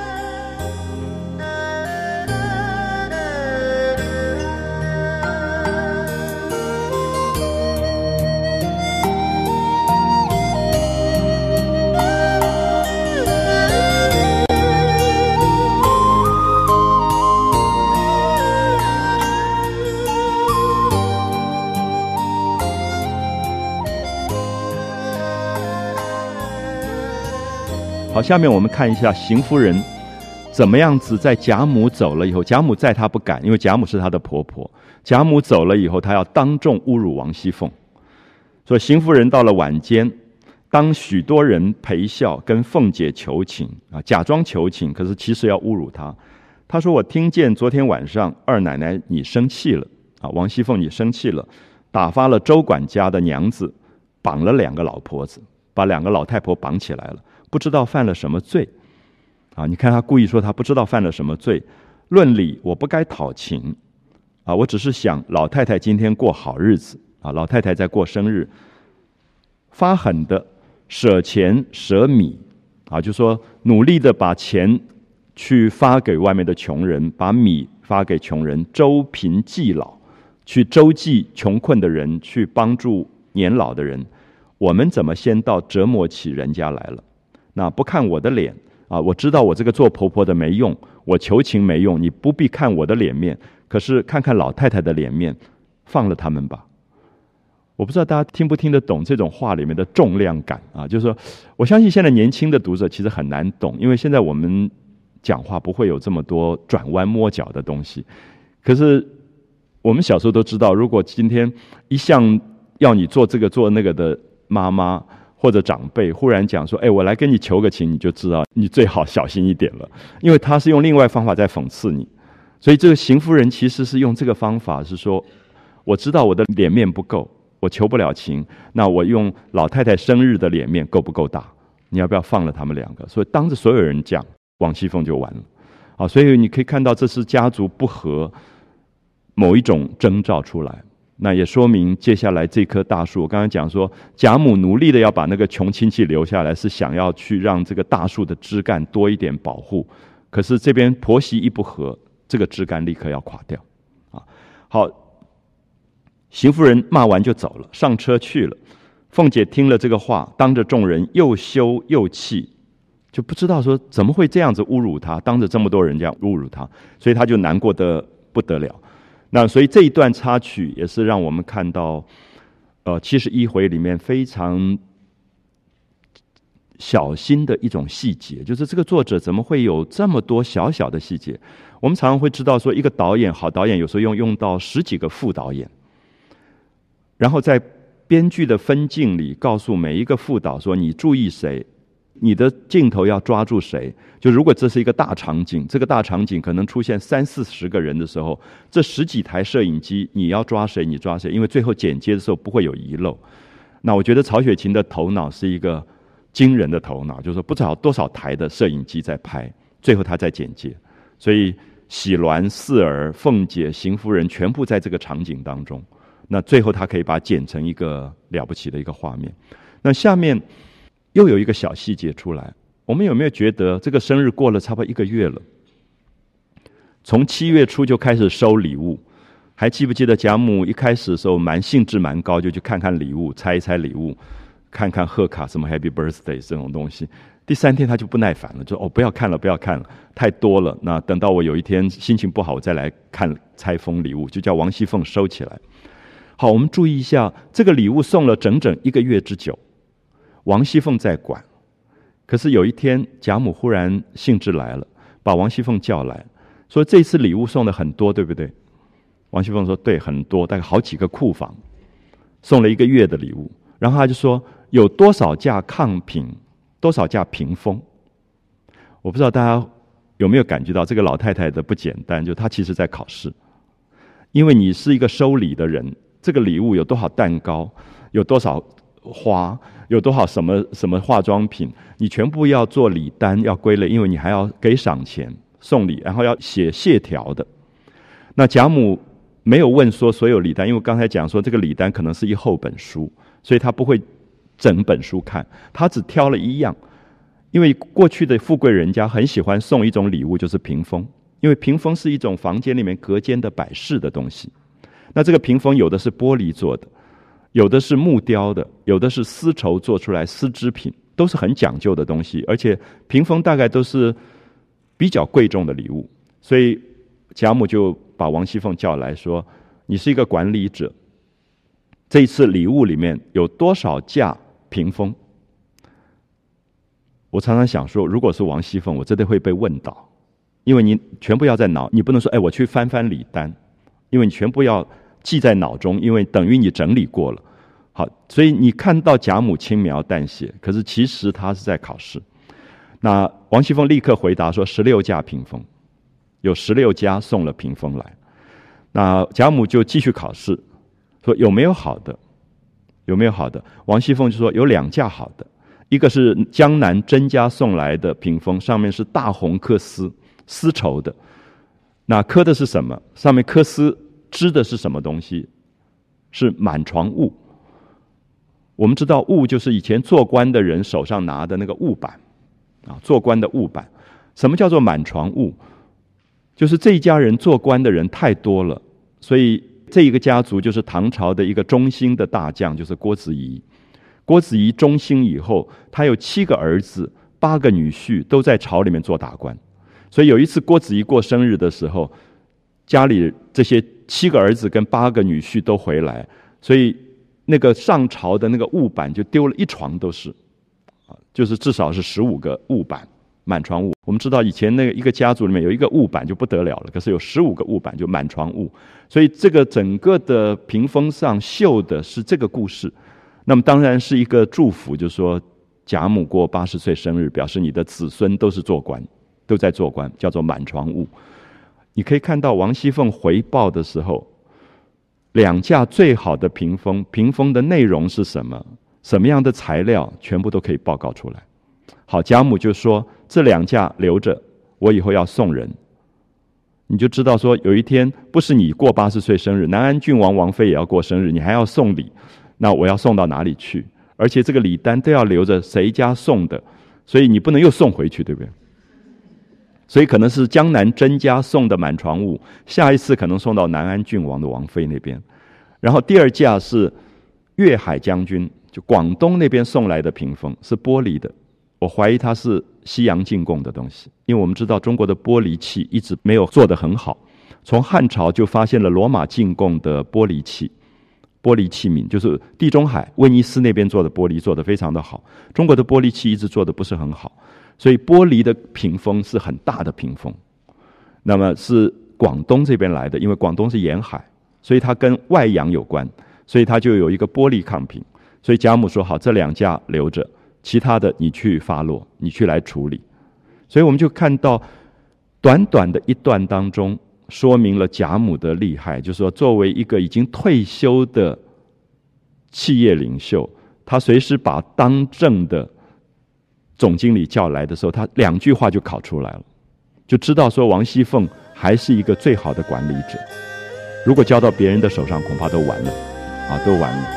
好，下面我们看一下邢夫人怎么样子在贾母走了以后，贾母在她不敢，因为贾母是她的婆婆，贾母走了以后，她要当众侮辱王熙凤。所以邢夫人到了晚间，当许多人陪笑跟凤姐求情假装求情，可是其实要侮辱她。她说我听见昨天晚上二奶奶你生气了王熙凤你生气了，打发了周管家的娘子绑了2个老婆子，把2个老太婆绑起来了， 不知道犯了什么罪。你看他故意说他不知道犯了什么罪。论理我不该讨情我只是想老太太今天过好日子老太太在过生日，发狠的舍钱舍米就说努力的把钱去发给外面的穷人，把米发给穷人，周贫济老，去周济穷困的人，去帮助年老的人。我们怎么先到折磨起人家来了？那不看我的脸我知道我这个做婆婆的没用，我求情没用，你不必看我的脸面，可是看看老太太的脸面，放了他们吧。我不知道大家听不听得懂这种话里面的重量感就是说，我相信现在年轻的读者其实很难懂，因为现在我们讲话不会有这么多转弯抹角的东西。可是我们小时候都知道，如果今天一向要你做这个做那个的妈妈或者长辈忽然讲说我来跟你求个情，你就知道你最好小心一点了，因为他是用另外方法在讽刺你。所以这个邢夫人其实是用这个方法，是说我知道我的脸面不够，我求不了情，那我用老太太生日的脸面够不够大？你要不要放了他们两个？所以当着所有人讲，王熙凤就完了所以你可以看到这是家族不和某一种征兆出来。那也说明接下来这棵大树，我刚才讲说贾母努力的要把那个穷亲戚留下来，是想要去让这个大树的枝干多一点保护，可是这边婆媳一不和，这个枝干立刻要垮掉好，邢夫人骂完就走了，上车去了。凤姐听了这个话，当着众人又羞又气，就不知道说怎么会这样子侮辱她，当着这么多人这样侮辱她，所以她就难过得不得了。那所以这一段插曲也是让我们看到71回里面非常小心的一种细节，就是这个作者怎么会有这么多小小的细节。我们常常会知道说一个导演，好导演有时候用到10几个副导演，然后在编剧的分镜里告诉每一个副导说你注意谁，你的镜头要抓住谁。就如果这是一个大场景，这个大场景可能出现30-40个人的时候，这10几台摄影机你要抓谁你抓谁，因为最后剪接的时候不会有遗漏。那我觉得曹雪芹的头脑是一个惊人的头脑，就是说不知道多少台的摄影机在拍，最后他在剪接。所以喜鸾、四儿、凤姐、邢夫人全部在这个场景当中，那最后他可以把它剪成一个了不起的一个画面。那下面又有一个小细节出来，我们有没有觉得这个生日过了差不多1个月了，从7月初就开始收礼物。还记不记得贾母一开始的时候兴致蛮高，就去看看礼物，猜一猜礼物，看看贺卡什么 Happy Birthday 这种东西。第3天他就不耐烦了，就不要看了不要看了，太多了，那等到我有一天心情不好我再来看拆封礼物，就叫王熙凤收起来。好，我们注意一下，这个礼物送了整整1个月之久，王熙凤在管。可是有一天贾母忽然兴致来了，把王熙凤叫来说这次礼物送的很多对不对？王熙凤说对，很多，大概好几个库房，送了1个月的礼物。然后他就说有多少架炕品，多少架屏风。我不知道大家有没有感觉到这个老太太的不简单，就她其实在考试。因为你是一个收礼的人，这个礼物有多少蛋糕，有多少花，有多少什么什么化妆品，你全部要做礼单，要归类，因为你还要给赏钱送礼，然后要写谢条的。那贾母没有问说所有礼单，因为刚才讲说这个礼单可能是一厚本书，所以他不会整本书看，他只挑了1样。因为过去的富贵人家很喜欢送一种礼物，就是屏风，因为屏风是一种房间里面隔间的摆饰的东西。那这个屏风有的是玻璃做的，有的是木雕的，有的是丝绸做出来丝织品，都是很讲究的东西，而且屏风大概都是比较贵重的礼物。所以贾母就把王熙凤叫来说，你是一个管理者，这一次礼物里面有多少架屏风？我常常想说，如果是王熙凤，我真的会被问到，因为你全部要在脑，你不能说我去翻翻礼单，因为你全部要记在脑中，因为等于你整理过了。好，所以你看到贾母轻描淡写，可是其实她是在考试。那王熙凤立刻回答说16架屏风，有16家送了屏风来。那贾母就继续考试，说有没有好的，有没有好的？王熙凤就说有2架好的， 一个是江南甄家送来的屏风，上面是大红缂丝绸的。那刻的是什么？上面缂丝织的是什么东西？是满床雾。我们知道雾就是以前做官的人手上拿的那个雾板啊，做官的雾板。什么叫做满床雾？就是这一家人做官的人太多了，所以这一个家族就是唐朝的一个中兴的大将，就是郭子仪。郭子仪中兴以后，他有7个儿子8个女婿，都在朝里面做大官。所以有一次郭子仪过生日的时候，家里这些7个儿子跟8个女婿都回来，所以那个上朝的那个雾板就丢了一床都是，就是至少是15个雾板，满床雾。我们知道以前那个一个家族里面有一个雾板就不得了了，可是有15个雾板就满床雾。所以这个整个的屏风上绣的是这个故事。那么当然是一个祝福，就是说贾母过80岁生日，表示你的子孙都是做官，都在做官，叫做满床雾。你可以看到王熙凤回报的时候，2架最好的屏风，屏风的内容是什么，什么样的材料，全部都可以报告出来。好，贾母就说这2架留着，我以后要送人。你就知道说有一天不是你过80岁生日，南安郡王王妃也要过生日，你还要送礼，那我要送到哪里去？而且这个礼单都要留着谁家送的，所以你不能又送回去，对不对？所以可能是江南甄家送的满床雾，下一次可能送到南安郡王的王妃那边。然后第2架是粤海将军，就广东那边送来的屏风，是玻璃的。我怀疑它是西洋进贡的东西，因为我们知道中国的玻璃器一直没有做得很好。从汉朝就发现了罗马进贡的玻璃器皿，就是地中海威尼斯那边做的玻璃做得非常的好，中国的玻璃器一直做得不是很好，所以玻璃的屏风是很大的屏风。那么是广东这边来的，因为广东是沿海，所以它跟外洋有关，所以它就有一个玻璃抗屏。所以贾母说好，这2架留着，其他的你去发落，你去来处理。所以我们就看到短短的一段当中，说明了贾母的厉害，就是说作为一个已经退休的企业领袖，他随时把当政的总经理叫来的时候，他2句话就考出来了，就知道说王熙凤还是一个最好的管理者。如果交到别人的手上，恐怕都完了啊，都完了。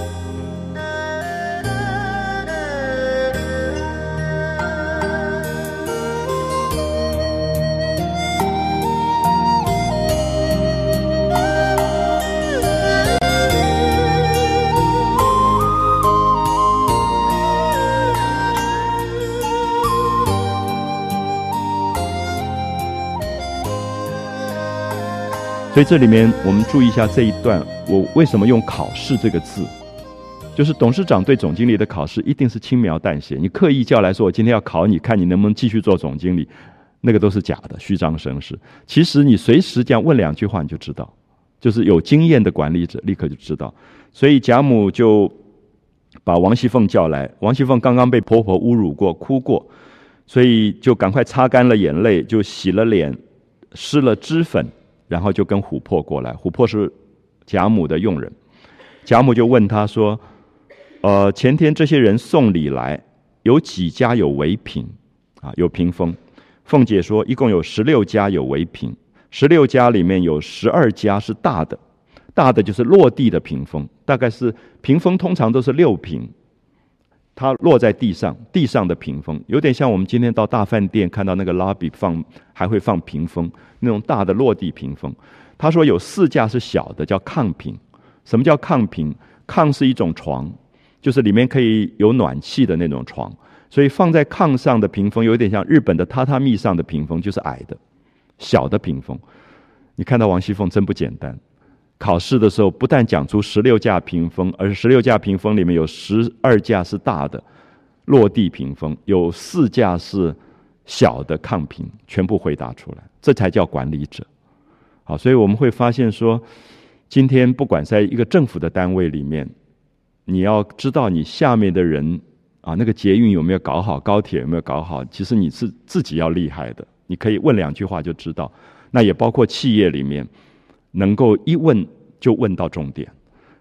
所以这里面我们注意一下这一段，我为什么用考试这个字，就是董事长对总经理的考试一定是轻描淡写，你刻意叫来说我今天要考你，看你能不能继续做总经理，那个都是假的，虚张声势。其实你随时这样问2句话你就知道，就是有经验的管理者立刻就知道。所以贾母就把王熙凤叫来，王熙凤刚刚被婆婆侮辱过，哭过，所以就赶快擦干了眼泪，就洗了脸，施了脂粉，然后就跟琥珀过来。琥珀是贾母的佣人，贾母就问他说前天这些人送礼来，有几家有围屏啊？有屏风。凤姐说一共有16家有围屏，16家里面有12家是大的，大的就是落地的屏风，大概是屏风通常都是6屏，它落在地上，地上的屏风有点像我们今天到大饭店看到那个 lobby 还会放屏风，那种大的落地屏风。他说有4架是小的，叫炕屏。什么叫炕屏？炕是一种床，就是里面可以有暖气的那种床，所以放在炕上的屏风有点像日本的榻榻米上的屏风，就是矮的小的屏风。你看到王熙凤真不简单，考试的时候不但讲出16架屏风，而是16架屏风里面有12架是大的落地屏风，有4架是小的炕屏，全部回答出来，这才叫管理者。好，所以我们会发现说，今天不管在一个政府的单位里面，你要知道你下面的人啊，那个捷运有没有搞好，高铁有没有搞好，其实你是自己要厉害的，你可以问2句话就知道。那也包括企业里面能够一问就问到重点。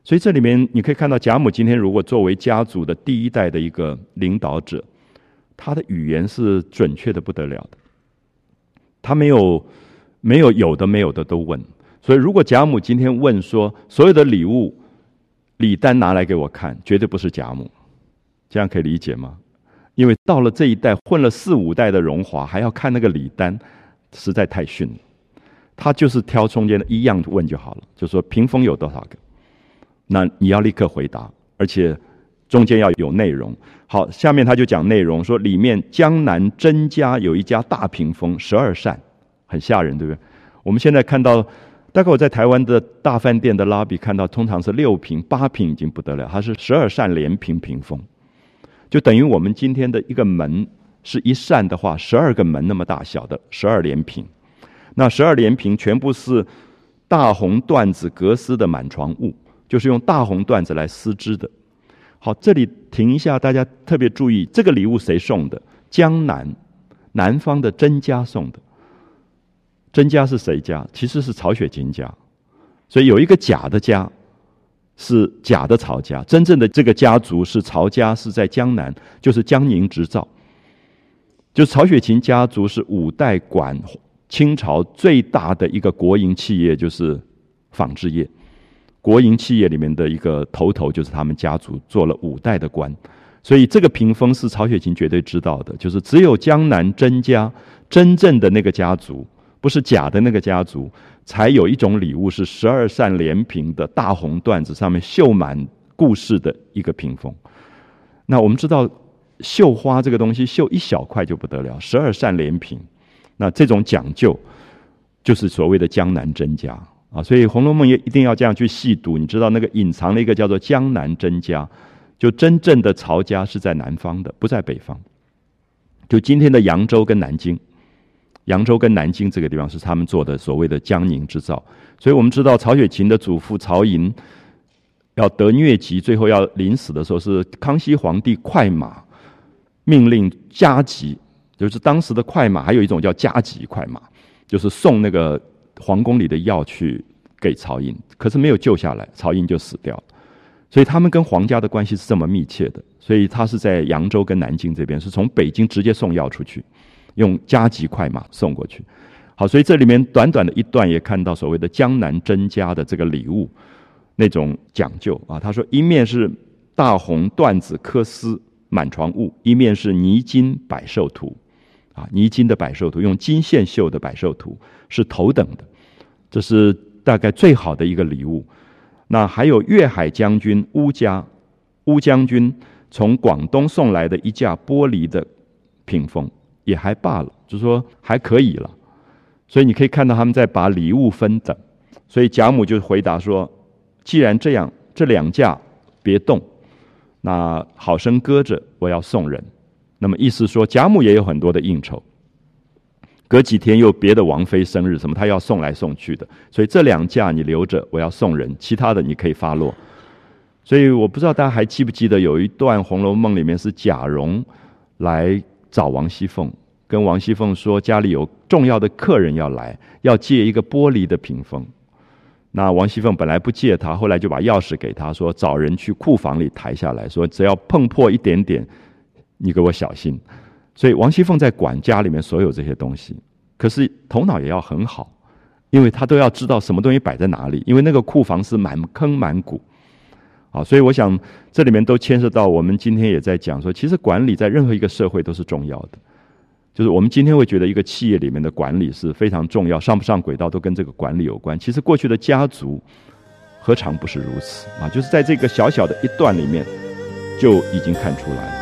所以这里面你可以看到，贾母今天如果作为家族的第一代的一个领导者，他的语言是准确的不得了的。他没有有的没有的都问。所以如果贾母今天问说所有的礼单拿来给我看，绝对不是贾母。这样可以理解吗？因为到了这一代混了4、5代的荣华，还要看那个礼单，实在太逊了。他就是挑中间的一样问就好了，就说屏风有多少个，那你要立刻回答，而且中间要有内容。好，下面他就讲内容，说里面江南甄家有一家大屏风，12扇，很吓人，对不对？我们现在看到，大概我在台湾的大饭店的 lobby 看到，通常是6屏、8屏已经不得了，它是12扇连屏屏风，就等于我们今天的一个门是一扇的话，12个门那么大小的12连屏。那12连屏全部是大红缎子格丝的满床物，就是用大红缎子来丝织的。好，这里停一下，大家特别注意，这个礼物谁送的？江南方的甄家送的。甄家是谁家？其实是曹雪芹家。所以有一个假的家，是假的曹家，真正的这个家族是曹家，是在江南，就是江宁织造。就是曹雪芹家族是5代管清朝最大的一个国营企业，就是纺织业。国营企业里面的一个头就是他们家族做了5代的官，所以这个屏风是曹雪芹绝对知道的，就是只有江南甄家真正的那个家族，不是假的那个家族，才有一种礼物是12扇连屏的大红缎子，上面绣满故事的一个屏风。那我们知道绣花这个东西绣一小块就不得了，12扇连屏，那这种讲究就是所谓的江南甄家啊，所以《红楼梦》也一定要这样去细读。你知道那个隐藏了一个叫做江南甄家，就真正的曹家是在南方的，不在北方。就今天的扬州跟南京，扬州跟南京这个地方是他们做的所谓的江宁织造。所以我们知道曹雪芹的祖父曹寅要得疟疾，最后要临死的时候，是康熙皇帝快马命令加急，就是当时的快马还有一种叫加急快马，就是送那个皇宫里的药去给曹寅，可是没有救下来，曹寅就死掉了。所以他们跟皇家的关系是这么密切的，所以他是在扬州跟南京这边，是从北京直接送药出去，用加急快马送过去。好，所以这里面短短的一段也看到所谓的江南甄家的这个礼物那种讲究啊。他说一面是大红缎子科丝满床物，一面是泥金百寿图啊，泥金的百寿图，用金线绣的百寿图是头等的，这是大概最好的一个礼物。那还有粤海将军乌将军从广东送来的一架玻璃的屏风，也还罢了，就是说还可以了。所以你可以看到他们在把礼物分等，所以贾母就回答说，既然这样，这2架别动，那好生搁着，我要送人。那么意思说贾母也有很多的应酬，隔几天又别的王妃生日什么，她要送来送去的，所以这2架你留着，我要送人，其他的你可以发落。所以我不知道大家还记不记得有一段《红楼梦》里面是贾蓉来找王熙凤，跟王熙凤说家里有重要的客人要来，要借一个玻璃的屏风。那王熙凤本来不借他，后来就把钥匙给他，说找人去库房里抬下来，说只要碰破一点点，你给我小心。所以王熙凤在管家里面所有这些东西，可是头脑也要很好，因为他都要知道什么东西摆在哪里，因为那个库房是满坑满谷。好，所以我想这里面都牵涉到我们今天也在讲说，其实管理在任何一个社会都是重要的。就是我们今天会觉得一个企业里面的管理是非常重要，上不上轨道都跟这个管理有关。其实过去的家族何尝不是如此啊？就是在这个小小的一段里面就已经看出来了。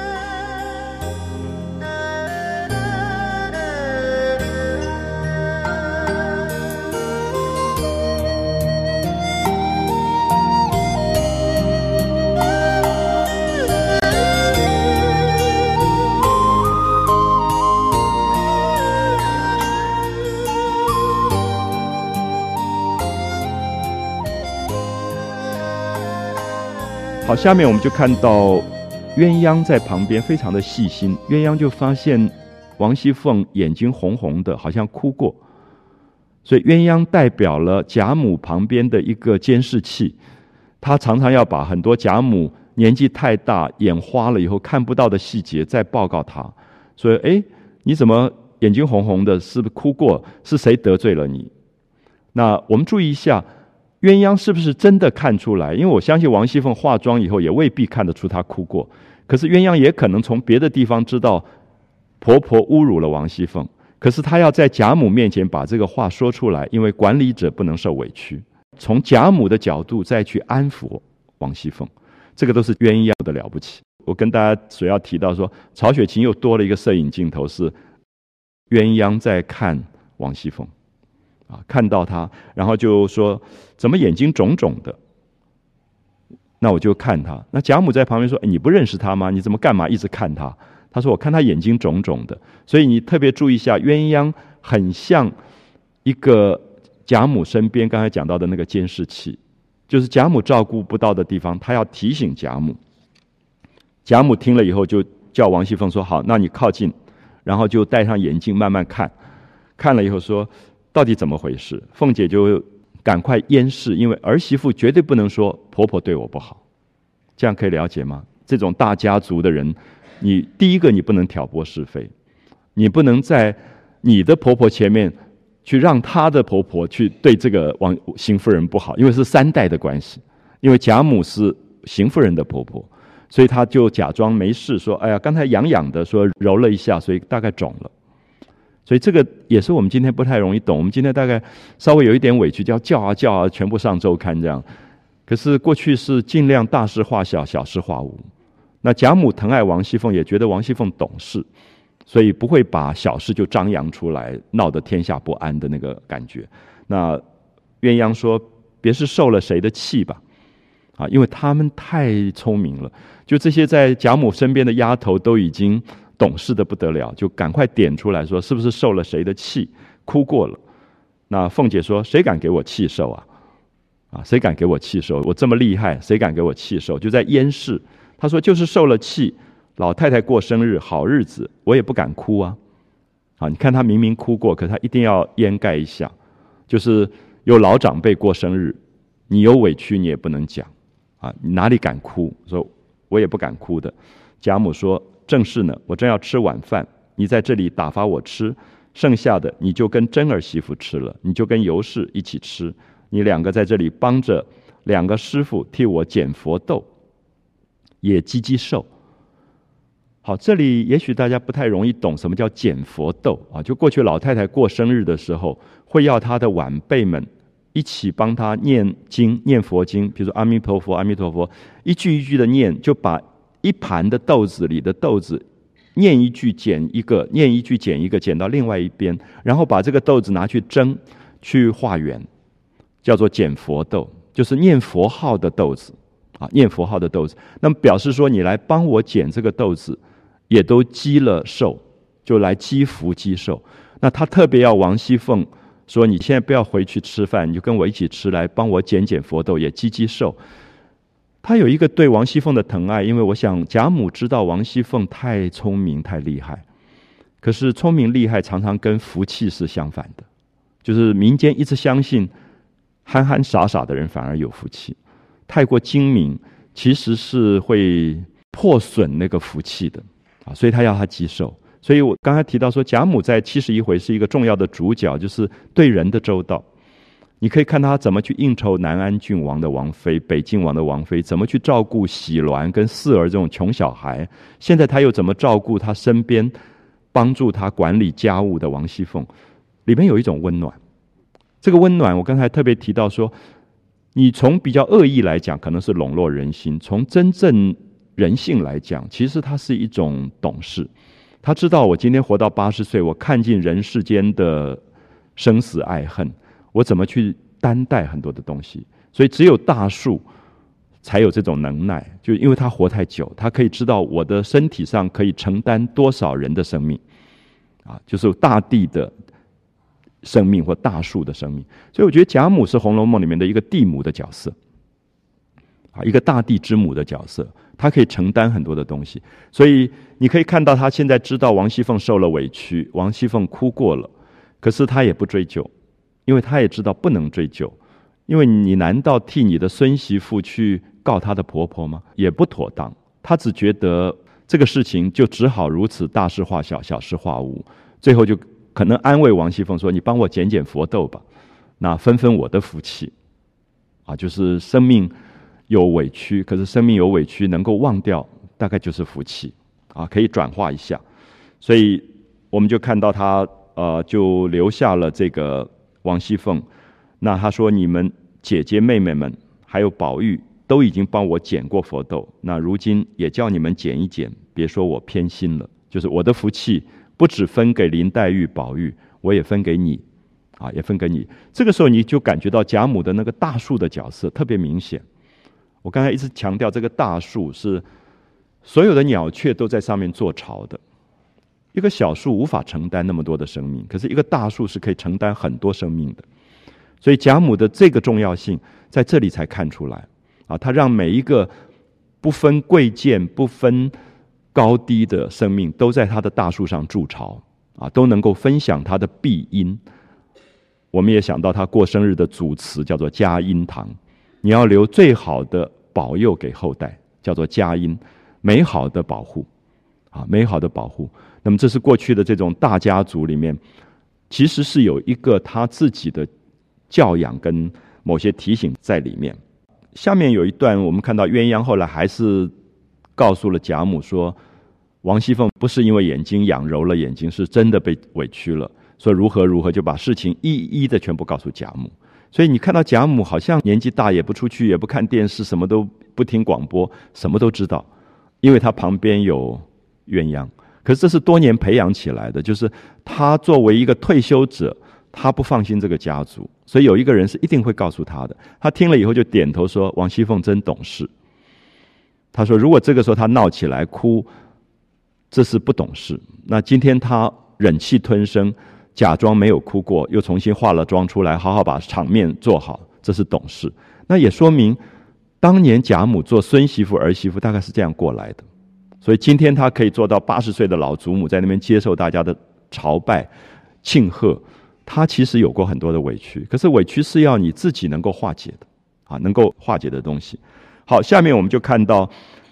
好，下面我们就看到鸳鸯在旁边非常的细心，鸳鸯就发现王熙凤眼睛红红的，好像哭过，所以鸳鸯代表了贾母旁边的一个监视器， 他常常要把很多贾母年纪太大眼花了以后看不到的细节再报告他，说你怎么眼睛红红的，是不是哭过，是谁得罪了你？那我们注意一下，鸳鸯是不是真的看出来？因为我相信王熙凤化妆以后也未必看得出她哭过，可是鸳鸯也可能从别的地方知道婆婆侮辱了王熙凤，可是她要在贾母面前把这个话说出来，因为管理者不能受委屈，从贾母的角度再去安抚王熙凤，这个都是鸳鸯的了不起。我跟大家所要提到说，曹雪芹又多了一个摄影镜头，是鸳鸯在看王熙凤看到她，然后就说怎么眼睛肿肿的，那我就看她。那贾母在旁边说你不认识她吗？你怎么干嘛一直看她？她说我看她眼睛肿肿的。所以你特别注意一下，鸳鸯很像一个贾母身边刚才讲到的那个监视器，就是贾母照顾不到的地方，她要提醒贾母。贾母听了以后就叫王熙凤说好，那你靠近，然后就戴上眼镜慢慢看，看了以后说到底怎么回事？凤姐就赶快掩饰，因为儿媳妇绝对不能说婆婆对我不好，这样可以了解吗？这种大家族的人，你第一个你不能挑拨是非，你不能在你的婆婆前面去让她的婆婆去对这个邢夫人不好，因为是3代的关系，因为贾母是邢夫人的婆婆，所以她就假装没事，说哎呀刚才痒痒的，说揉了一下，所以大概肿了。所以这个也是我们今天不太容易懂，我们今天大概稍微有一点委屈，叫啊全部上周刊这样。可是过去是尽量大事化小，小事化无。那贾母疼爱王熙凤，也觉得王熙凤懂事，所以不会把小事就张扬出来，闹得天下不安的那个感觉。那鸳鸯说别是受了谁的气吧，因为他们太聪明了，就这些在贾母身边的丫头都已经懂事的不得了，就赶快点出来说是不是受了谁的气，哭过了。那凤姐说谁敢给我气受啊？谁敢给我气受？我这么厉害，谁敢给我气受？就在掩饰。她说就是受了气，老太太过生日好日子，我也不敢哭啊。你看她明明哭过，可她一定要掩盖一下，就是有老长辈过生日，你有委屈你也不能讲你哪里敢哭？说我也不敢哭的。贾母说正是呢，我正要吃晚饭，你在这里打发我吃，剩下的你就跟真儿媳妇吃了，你就跟尤氏一起吃，你2个在这里帮着2个师傅替我捡佛豆，也积寿。好，这里也许大家不太容易懂什么叫捡佛豆就过去老太太过生日的时候，会要她的晚辈们一起帮她念经，念佛经，比如说阿弥陀佛阿弥陀佛，一句一句的念，就把一盘的豆子里的豆子念一句捡一个，念一句捡一个，捡到另外一边，然后把这个豆子拿去蒸，去化缘，叫做捡佛豆，就是念佛号的豆子念佛号的豆子。那么表示说你来帮我捡这个豆子，也都积了寿，就来积福积寿。那他特别要王熙凤说你现在不要回去吃饭，你就跟我一起吃，来帮我捡佛豆，也积寿。他有一个对王熙凤的疼爱，因为我想贾母知道王熙凤太聪明太厉害，可是聪明厉害常常跟福气是相反的，就是民间一直相信憨憨傻傻的人反而有福气，太过精明其实是会破损那个福气的所以他要他积寿。所以我刚才提到说贾母在71回是一个重要的主角，就是对人的周到。你可以看他怎么去应酬南安郡王的王妃、北静王的王妃，怎么去照顾喜鸾跟四儿这种穷小孩，现在他又怎么照顾他身边帮助他管理家务的王熙凤，里面有一种温暖。这个温暖我刚才特别提到说，你从比较恶意来讲可能是笼络人心，从真正人性来讲，其实它是一种懂事。他知道我今天活到80岁，我看尽人世间的生死爱恨，我怎么去担待很多的东西。所以只有大树才有这种能耐，就因为他活太久，他可以知道我的身体上可以承担多少人的生命就是大地的生命或大树的生命。所以我觉得贾母是《红楼梦》里面的一个地母的角色一个大地之母的角色，他可以承担很多的东西。所以你可以看到他现在知道王熙凤受了委屈，王熙凤哭过了，可是他也不追究，因为他也知道不能追究， 因为你难道替你的孙媳妇去告她的婆婆吗？也不妥当。她只觉得这个事情就只好如此，大事化小，小事化无。最后就可能安慰王熙凤说：“你帮我捡捡佛豆吧，那分分我的福气。”就是生命有委屈，可是生命有委屈能够忘掉，大概就是福气可以转化一下。所以我们就看到他就留下了这个王熙凤。那他说：“你们姐姐妹妹们还有宝玉都已经帮我捡过佛豆，那如今也叫你们捡一捡，别说我偏心了。就是我的福气不只分给林黛玉、宝玉，我也分给你也分给你。”这个时候你就感觉到贾母的那个大树的角色特别明显。我刚才一直强调，这个大树是所有的鸟雀都在上面做巢的。一个小树无法承担那么多的生命，可是一个大树是可以承担很多生命的。所以贾母的这个重要性在这里才看出来他让每一个不分贵贱、不分高低的生命都在他的大树上筑巢都能够分享他的庇荫。我们也想到他过生日的主词叫做嘉荫堂，你要留最好的保佑给后代，叫做嘉荫，美好的保护美好的保护。那么这是过去的这种大家族里面其实是有一个他自己的教养跟某些提醒在里面。下面有一段我们看到鸳鸯后来还是告诉了贾母说，王熙凤不是因为眼睛痒揉了眼睛，是真的被委屈了，说如何如何，就把事情一一的全部告诉贾母。所以你看到贾母好像年纪大，也不出去，也不看电视，什么都不听广播，什么都知道，因为他旁边有鸳鸯。可是这是多年培养起来的，就是他作为一个退休者，他不放心这个家族，所以有一个人是一定会告诉他的。他听了以后就点头说：“王熙凤真懂事。”他说：“如果这个时候他闹起来哭，这是不懂事。那今天他忍气吞声，假装没有哭过，又重新化了妆出来，好好把场面做好，这是懂事。”那也说明当年贾母做孙媳妇、儿媳妇大概是这样过来的。所以今天他可以做到80岁的老祖母在那边接受大家的朝拜庆贺，他其实有过很多的委屈，可是委屈是要你自己能够化解的能够化解的东西。好，下面我们就看到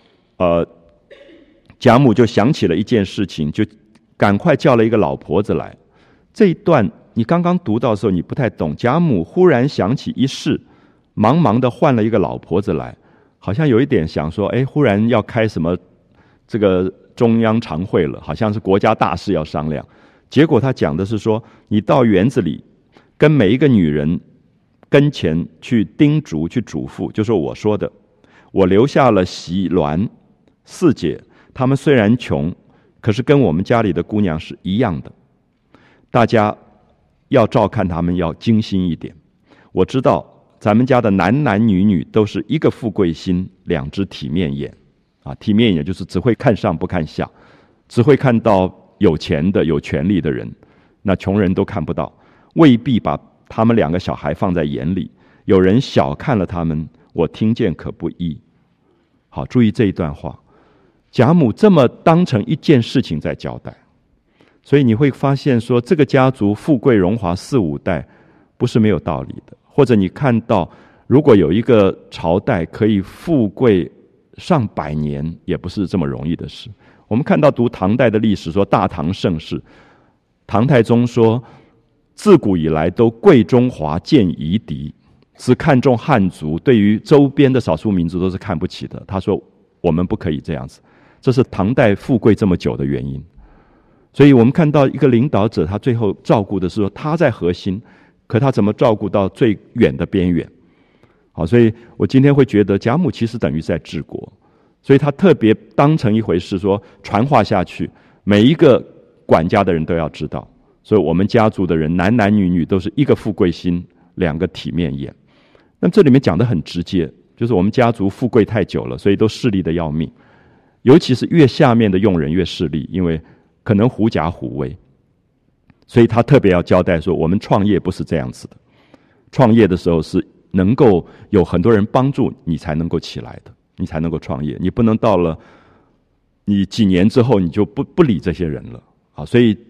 贾母就想起了一件事情，就赶快叫了一个老婆子来。这一段你刚刚读到的时候你不太懂，贾母忽然想起一事，忙忙的换了一个老婆子来，好像有一点想说忽然要开什么这个中央常会了，好像是国家大事要商量。结果他讲的是说，你到园子里跟每一个女人跟前去叮嘱去嘱咐，就说我说的，我留下了袭鸾四姐，她们虽然穷，可是跟我们家里的姑娘是一样的，大家要照看她们，要精心一点。我知道咱们家的男男女女都是一个富贵心，两只体面眼体面眼就是只会看上不看下，只会看到有钱的有权力的人，那穷人都看不到，未必把他们2个小孩放在眼里。有人小看了他们，我听见可不易。好，注意这一段话，贾母这么当成一件事情在交代。所以你会发现说，这个家族富贵荣华4、5代不是没有道理的。或者你看到如果有一个朝代可以富贵上百年，也不是这么容易的事。我们看到读唐代的历史说，大唐盛世，唐太宗说自古以来都贵中华贱夷狄，只看重汉族，对于周边的少数民族都是看不起的。他说我们不可以这样子，这是唐代富贵这么久的原因。所以我们看到一个领导者，他最后照顾的是说他在核心，可他怎么照顾到最远的边缘。好，所以我今天会觉得贾母其实等于在治国，所以他特别当成一回事说传话下去，每一个管家的人都要知道。所以我们家族的人男男女女都是一个富贵心，2个体面眼。那么这里面讲得很直接，就是我们家族富贵太久了，所以都势利的要命，尤其是越下面的用人越势利，因为可能狐假虎威。所以他特别要交代说，我们创业不是这样子的，创业的时候是能够有很多人帮助你才能够起来的，你才能够创业。你不能到了你几年之后你就不理这些人了所以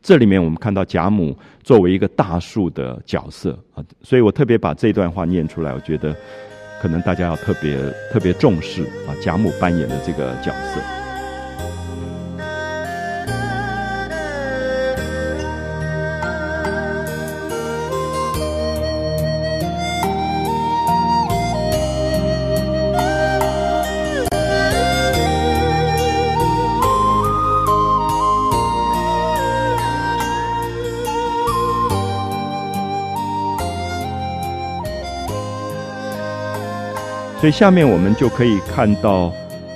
这里面我们看到贾母作为一个大树的角色啊，所以我特别把这段话念出来，我觉得可能大家要特别重视啊贾母扮演的这个角色。所以下面我们就可以看到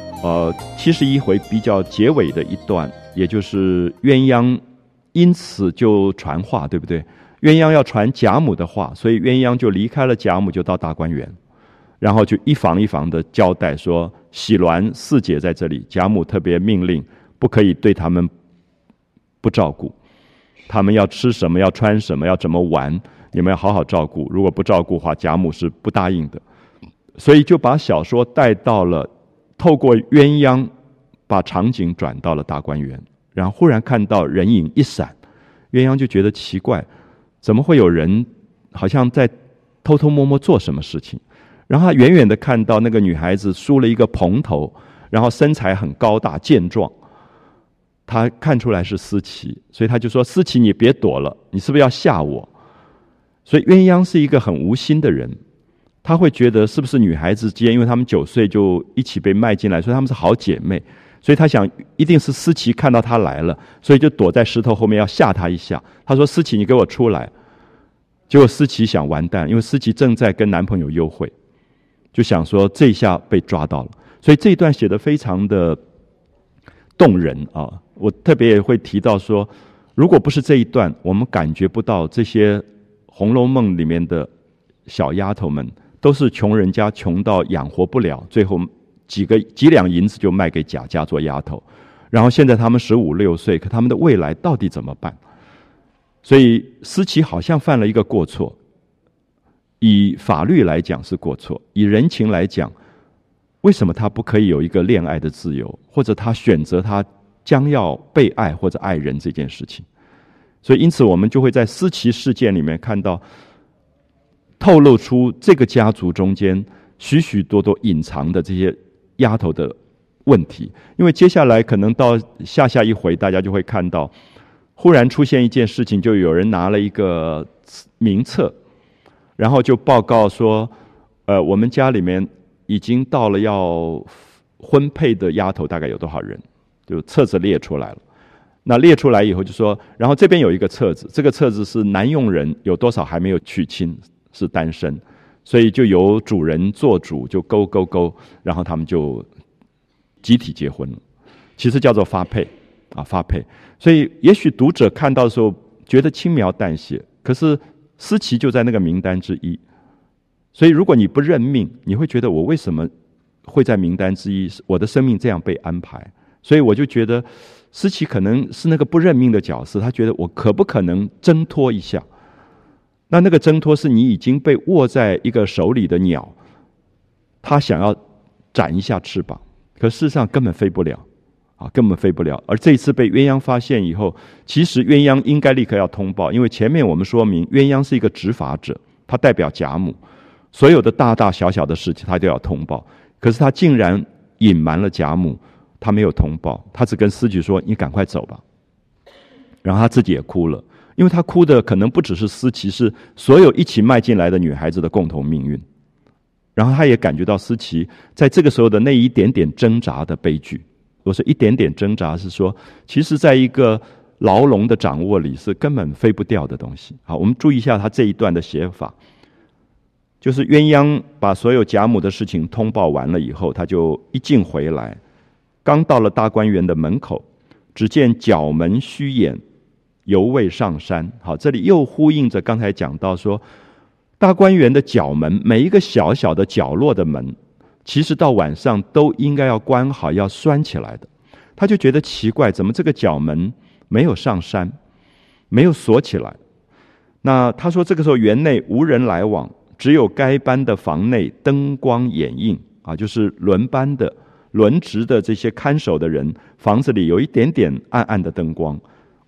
71回比较结尾的一段，也就是鸳鸯因此就传话，对不对？鸳鸯要传贾母的话，所以鸳鸯就离开了贾母，就到大观园，然后就一房一房的交代说，喜鸾四姐在这里，贾母特别命令不可以对他们不照顾，他们要吃什么，要穿什么，要怎么玩，你们要好好照顾，如果不照顾的话，贾母是不答应的。所以就把小说带到了，透过鸳鸯把场景转到了大观园，然后忽然看到人影一闪，鸳鸯就觉得奇怪，怎么会有人好像在偷偷摸摸做什么事情。然后他远远的看到那个女孩子梳了一个蓬头，然后身材很高大健壮，他看出来是思琪，所以他就说，思琪你别躲了，你是不是要吓我？所以鸳鸯是一个很无心的人，他会觉得是不是女孩子之间，因为他们9岁就一起被卖进来，所以他们是好姐妹，所以他想一定是思琪看到他来了，所以就躲在石头后面要吓他一下。他说，思琪你给我出来。结果思琪想完蛋，因为思琪正在跟男朋友幽会，就想说这一下被抓到了。所以这一段写得非常的动人啊！我特别也会提到说，如果不是这一段，我们感觉不到这些《红楼梦》里面的小丫头们都是穷人家，穷到养活不了，最后几两银子就卖给贾家做丫头，然后现在他们15、16岁，可他们的未来到底怎么办？所以思琪好像犯了一个过错，以法律来讲是过错，以人情来讲，为什么他不可以有一个恋爱的自由，或者他选择他将要被爱或者爱人这件事情？所以因此我们就会在思琪事件里面看到，透露出这个家族中间许许多多隐藏的这些丫头的问题。因为接下来可能到下一回，大家就会看到忽然出现一件事情，就有人拿了一个名册，然后就报告说我们家里面已经到了要婚配的丫头大概有多少人，就册子列出来了。那列出来以后就说，然后这边有一个册子，这个册子是男佣人有多少还没有娶亲，是单身，所以就由主人做主，就勾，然后他们就集体结婚了，其实叫做发配啊，发配。所以也许读者看到的时候觉得轻描淡写，可是思琪就在那个名单之一。所以如果你不认命，你会觉得我为什么会在名单之一，我的生命这样被安排。所以我就觉得思琪可能是那个不认命的角色，他觉得我可不可能挣脱一下？那个挣脱是你已经被握在一个手里的鸟，他想要展一下翅膀，可事实上根本飞不了啊，根本飞不了。而这一次被鸳鸯发现以后，其实鸳鸯应该立刻要通报，因为前面我们说明鸳鸯是一个执法者，他代表贾母，所有的大大小小的事情他都要通报。可是他竟然隐瞒了贾母，他没有通报，他只跟思琪说你赶快走吧。然后他自己也哭了，因为他哭的可能不只是思琪，是所有一起迈进来的女孩子的共同命运。然后他也感觉到思琪在这个时候的那一点点挣扎的悲剧。我说一点点挣扎是说，其实在一个牢笼的掌握里是根本飞不掉的东西。好，我们注意一下他这一段的写法，就是鸳鸯把所有贾母的事情通报完了以后，他就一进回来，刚到了大观园的门口，只见角门虚掩，犹未上山。好，这里又呼应着刚才讲到说，大观园的角门，每一个小小的角落的门，其实到晚上都应该要关好，要拴起来的。他就觉得奇怪，怎么这个角门没有上山，没有锁起来？那他说这个时候园内无人来往，只有该班的房内灯光掩映啊，就是轮班的轮值的这些看守的人，房子里有一点点暗暗的灯光。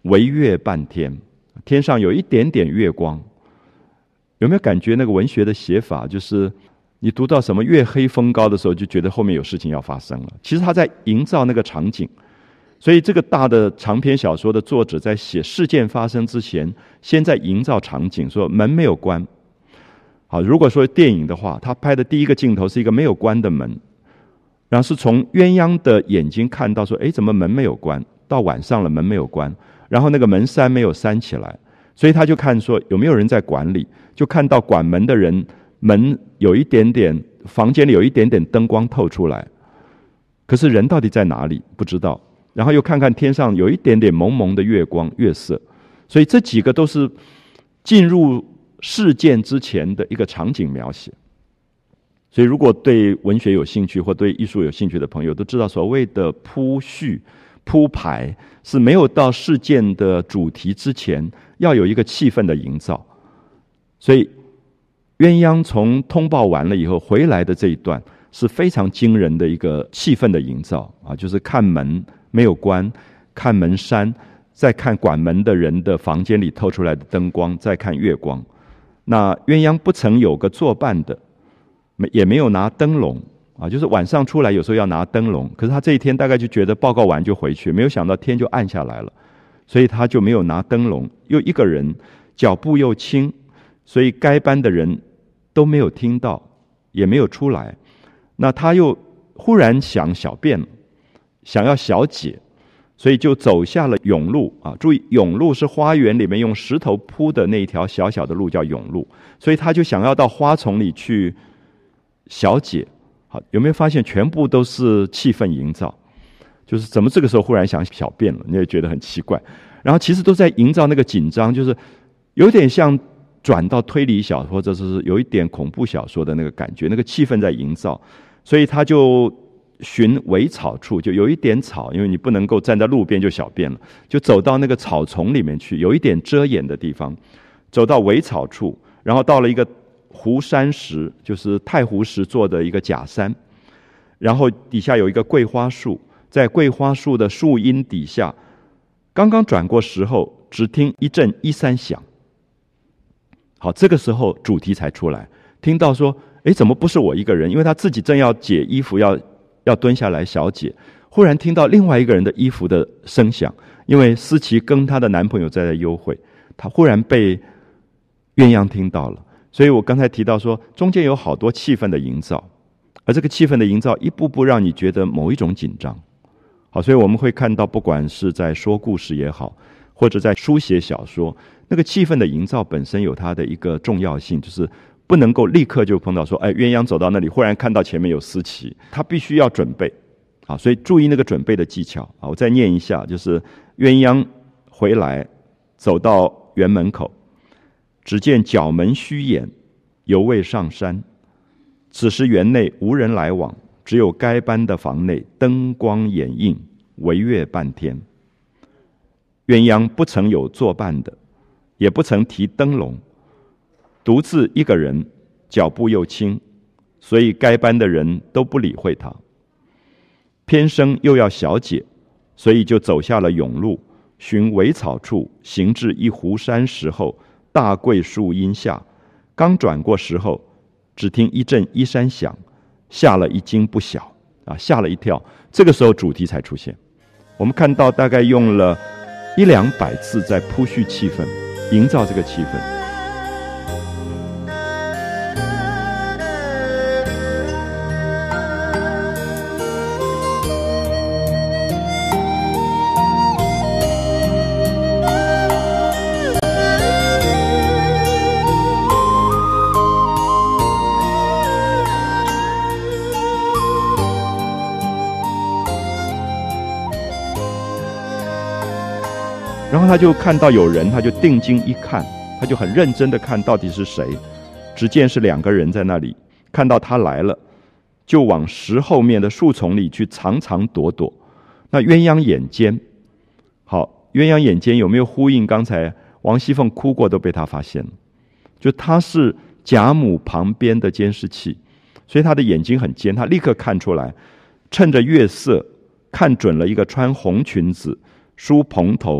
微月半天，天上有一点点月光。有没有感觉那个文学的写法，就是你读到什么月黑风高的时候，就觉得后面有事情要发生了。其实他在营造那个场景。所以这个大的长篇小说的作者在写事件发生之前，先在营造场景，说门没有关。好，如果说电影的话，他拍的第一个镜头是一个没有关的门，然后是从鸳鸯的眼睛看到说，诶，怎么门没有关？到晚上了门没有关，然后那个门扇没有扇起来，所以他就看说有没有人在管理，就看到管门的人门有一点点，房间里有一点点灯光透出来，可是人到底在哪里不知道。然后又看看天上有一点点蒙蒙的月光月色，所以这几个都是进入事件之前的一个场景描写。所以如果对文学有兴趣或对艺术有兴趣的朋友都知道，所谓的铺叙铺排是没有到事件的主题之前要有一个气氛的营造。所以鸳鸯从通报完了以后回来的这一段是非常惊人的一个气氛的营造啊，就是看门没有关，看门扇，再看管门的人的房间里透出来的灯光，再看月光。那鸳鸯不曾有个作伴的，也没有拿灯笼啊，就是晚上出来有时候要拿灯笼，可是他这一天大概就觉得报告完就回去，没有想到天就暗下来了，所以他就没有拿灯笼，又一个人，脚步又轻，所以该班的人都没有听到，也没有出来。那他又忽然想小便了，想要小解，所以就走下了甬路啊！注意，甬路是花园里面用石头铺的那一条小小的路，叫甬路。所以他就想要到花丛里去小解。好，有没有发现全部都是气氛营造？就是怎么这个时候忽然想小便了，你也觉得很奇怪。然后其实都在营造那个紧张，就是有点像转到推理小说，或者是有一点恐怖小说的那个感觉，那个气氛在营造。所以他就寻苇草处，就有一点草，因为你不能够站在路边就小便了，就走到那个草丛里面去，有一点遮掩的地方，走到苇草处，然后到了一个湖山石，就是太湖石做的一个假山，然后底下有一个桂花树，在桂花树的树荫底下，刚刚转过时候，只听一阵衣衫响。好，这个时候主题才出来，听到说，诶，怎么不是我一个人？因为他自己正要解衣服，要蹲下来小解，忽然听到另外一个人的衣服的声响，因为思琪跟她的男朋友在幽会，她忽然被鸳鸯听到了。所以我刚才提到说，中间有好多气氛的营造，而这个气氛的营造一步步让你觉得某一种紧张。好，所以我们会看到，不管是在说故事也好，或者在书写小说，那个气氛的营造本身有它的一个重要性，就是不能够立刻就碰到说，哎，鸳鸯走到那里，忽然看到前面有思琪，他必须要准备。好，所以注意那个准备的技巧。好，我再念一下，就是鸳鸯回来，走到园门口，只见角门虚掩，犹未上山。此时园内无人来往，只有该班的房内灯光掩映，惟月半天。鸳鸯不曾有作伴的，也不曾提灯笼，独自一个人，脚步又轻，所以该班的人都不理会他。偏生又要小解，所以就走下了甬路，寻苇草处，行至一湖山石后，大桂树荫下，刚转过时候，只听一阵衣衫响，吓了一惊不小啊，吓了一跳。这个时候主题才出现。我们看到大概用了100-200次在铺叙气氛，营造这个气氛。然后他就看到有人，他就定睛一看，他就很认真的看到底是谁。只见是2个人在那里，看到他来了，就往石后面的树丛里去藏藏躲躲。那鸳鸯眼尖，好，鸳鸯眼尖有没有呼应刚才王熙凤哭过都被他发现了？就他是贾母旁边的监视器，所以他的眼睛很尖，他立刻看出来，趁着月色看准了一个穿红裙子、梳蓬头、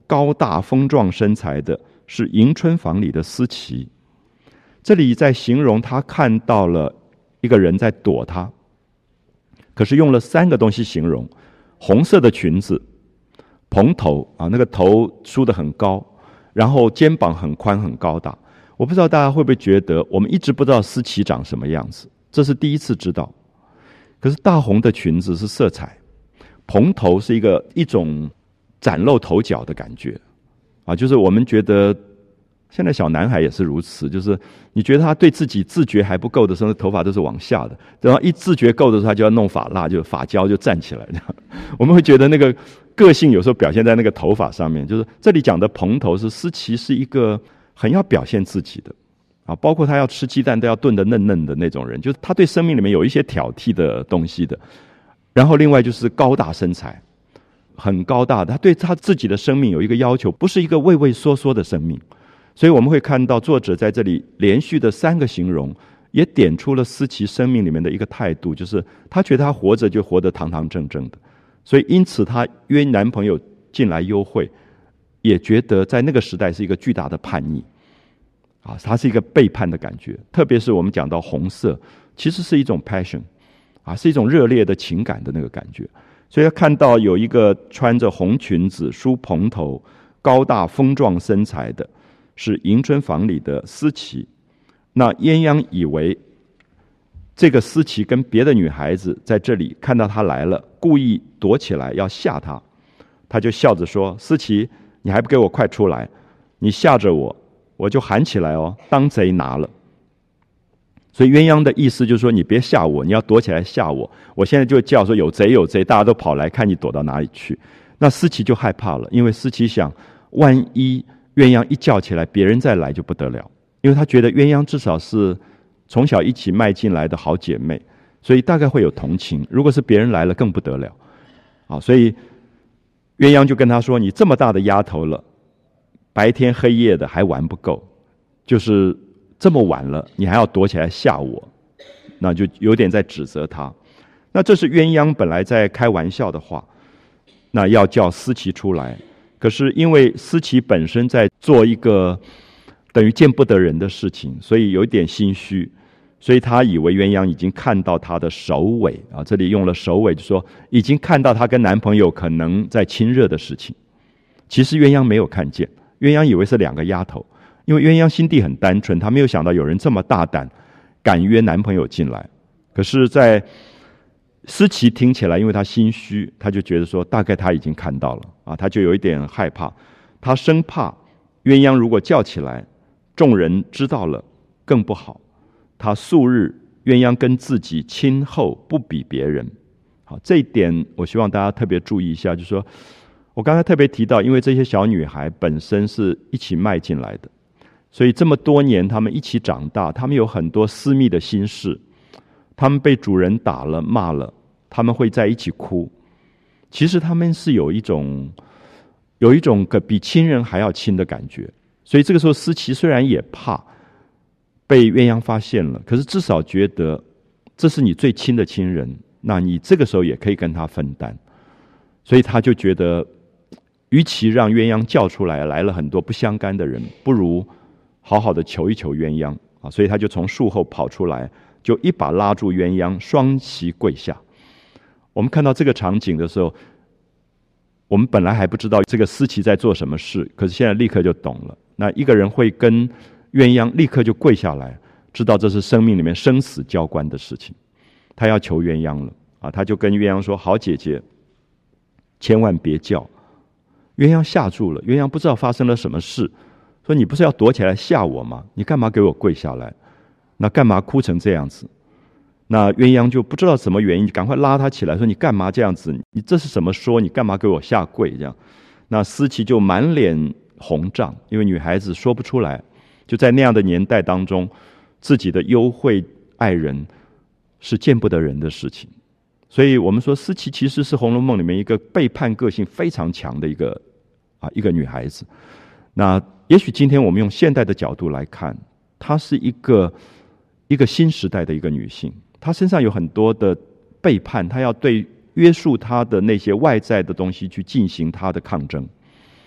高大丰壮身材的是迎春房里的思琪。这里在形容他看到了一个人在躲他，可是用了3个东西形容：红色的裙子，蓬头啊，那个头梳得很高，然后肩膀很宽很高大。我不知道大家会不会觉得，我们一直不知道思琪长什么样子，这是第一次知道。可是大红的裙子是色彩，蓬头是一种崭露头角的感觉啊，就是我们觉得现在小男孩也是如此，就是你觉得他对自己自觉还不够的时候，头发都是往下的，然后一自觉够的时候，他就要弄发蜡，就发胶就站起来这样。我们会觉得那个个性有时候表现在那个头发上面，就是这里讲的蓬头是思琪是一个很要表现自己的啊，包括他要吃鸡蛋都要炖得嫩嫩的那种人，就是他对生命里面有一些挑剔的东西的。然后另外就是高大身材，很高大的，他对他自己的生命有一个要求，不是一个畏畏缩缩的生命。所以我们会看到作者在这里连续的3个形容，也点出了思琪生命里面的一个态度，就是他觉得他活着就活得堂堂正正的，所以因此他约男朋友进来幽会，也觉得在那个时代是一个巨大的叛逆啊，它是一个背叛的感觉。特别是我们讲到红色，其实是一种 passion 啊，是一种热烈的情感的那个感觉。所以他看到有一个穿着红裙子、梳蓬头、高大丰壮身材的，是迎春房里的思琪。那鸳鸯以为这个思琪跟别的女孩子在这里看到他来了，故意躲起来要吓他，他就笑着说：思琪，你还不给我快出来，你吓着我，我就喊起来哦，当贼拿了。所以鸳鸯的意思就是说，你别吓我，你要躲起来吓我，我现在就叫说有贼有贼，大家都跑来看你躲到哪里去。那思琪就害怕了，因为思琪想，万一鸳鸯一叫起来，别人再来就不得了，因为他觉得鸳鸯至少是从小一起迈进来的好姐妹，所以大概会有同情，如果是别人来了更不得了啊。所以鸳鸯就跟他说，你这么大的丫头了，白天黑夜的还玩不够，就是这么晚了你还要躲起来吓我，那就有点在指责他。那这是鸳鸯本来在开玩笑的话，那要叫思琪出来，可是因为思琪本身在做一个等于见不得人的事情，所以有一点心虚，所以他以为鸳鸯已经看到他的首尾啊，这里用了首尾，就说已经看到他跟男朋友可能在亲热的事情。其实鸳鸯没有看见，鸳鸯以为是2个丫头，因为鸳鸯心地很单纯，她没有想到有人这么大胆敢约男朋友进来。可是在思琪听起来，因为她心虚，她就觉得说大概她已经看到了啊，她就有一点害怕，她生怕鸳鸯如果叫起来，众人知道了更不好。她素日鸳鸯跟自己亲厚不比别人，好，这一点我希望大家特别注意一下，就是说我刚才特别提到，因为这些小女孩本身是一起迈进来的，所以这么多年她们一起长大，她们有很多私密的心事，她们被主人打了骂了，她们会在一起哭。其实她们是有一种比亲人还要亲的感觉。所以这个时候思琪虽然也怕被鸳鸯发现了，可是至少觉得这是你最亲的亲人，那你这个时候也可以跟他分担。所以他就觉得与其让鸳鸯叫出来了很多不相干的人，不如好好的求一求鸳鸯啊！所以他就从树后跑出来，就一把拉住鸳鸯，双膝跪下。我们看到这个场景的时候，我们本来还不知道这个思琪在做什么事，可是现在立刻就懂了。那一个人会跟鸳鸯立刻就跪下来，知道这是生命里面生死交关的事情，他要求鸳鸯了啊！他就跟鸳鸯说：好姐姐，千万别叫。鸳鸯吓住了，鸳鸯不知道发生了什么事，说你不是要躲起来吓我吗？你干嘛给我跪下来？那干嘛哭成这样子？那鸳鸯就不知道什么原因，赶快拉他起来，说你干嘛这样子？你这是什么说？你干嘛给我下跪？这样，那思琪就满脸红胀，因为女孩子说不出来，就在那样的年代当中，自己的幽会爱人是见不得人的事情。所以我们说思琪其实是《红楼梦》里面一个背叛个性非常强的一个女孩子。那也许今天我们用现代的角度来看，她是一个新时代的一个女性，她身上有很多的背叛，她要对约束她的那些外在的东西去进行她的抗争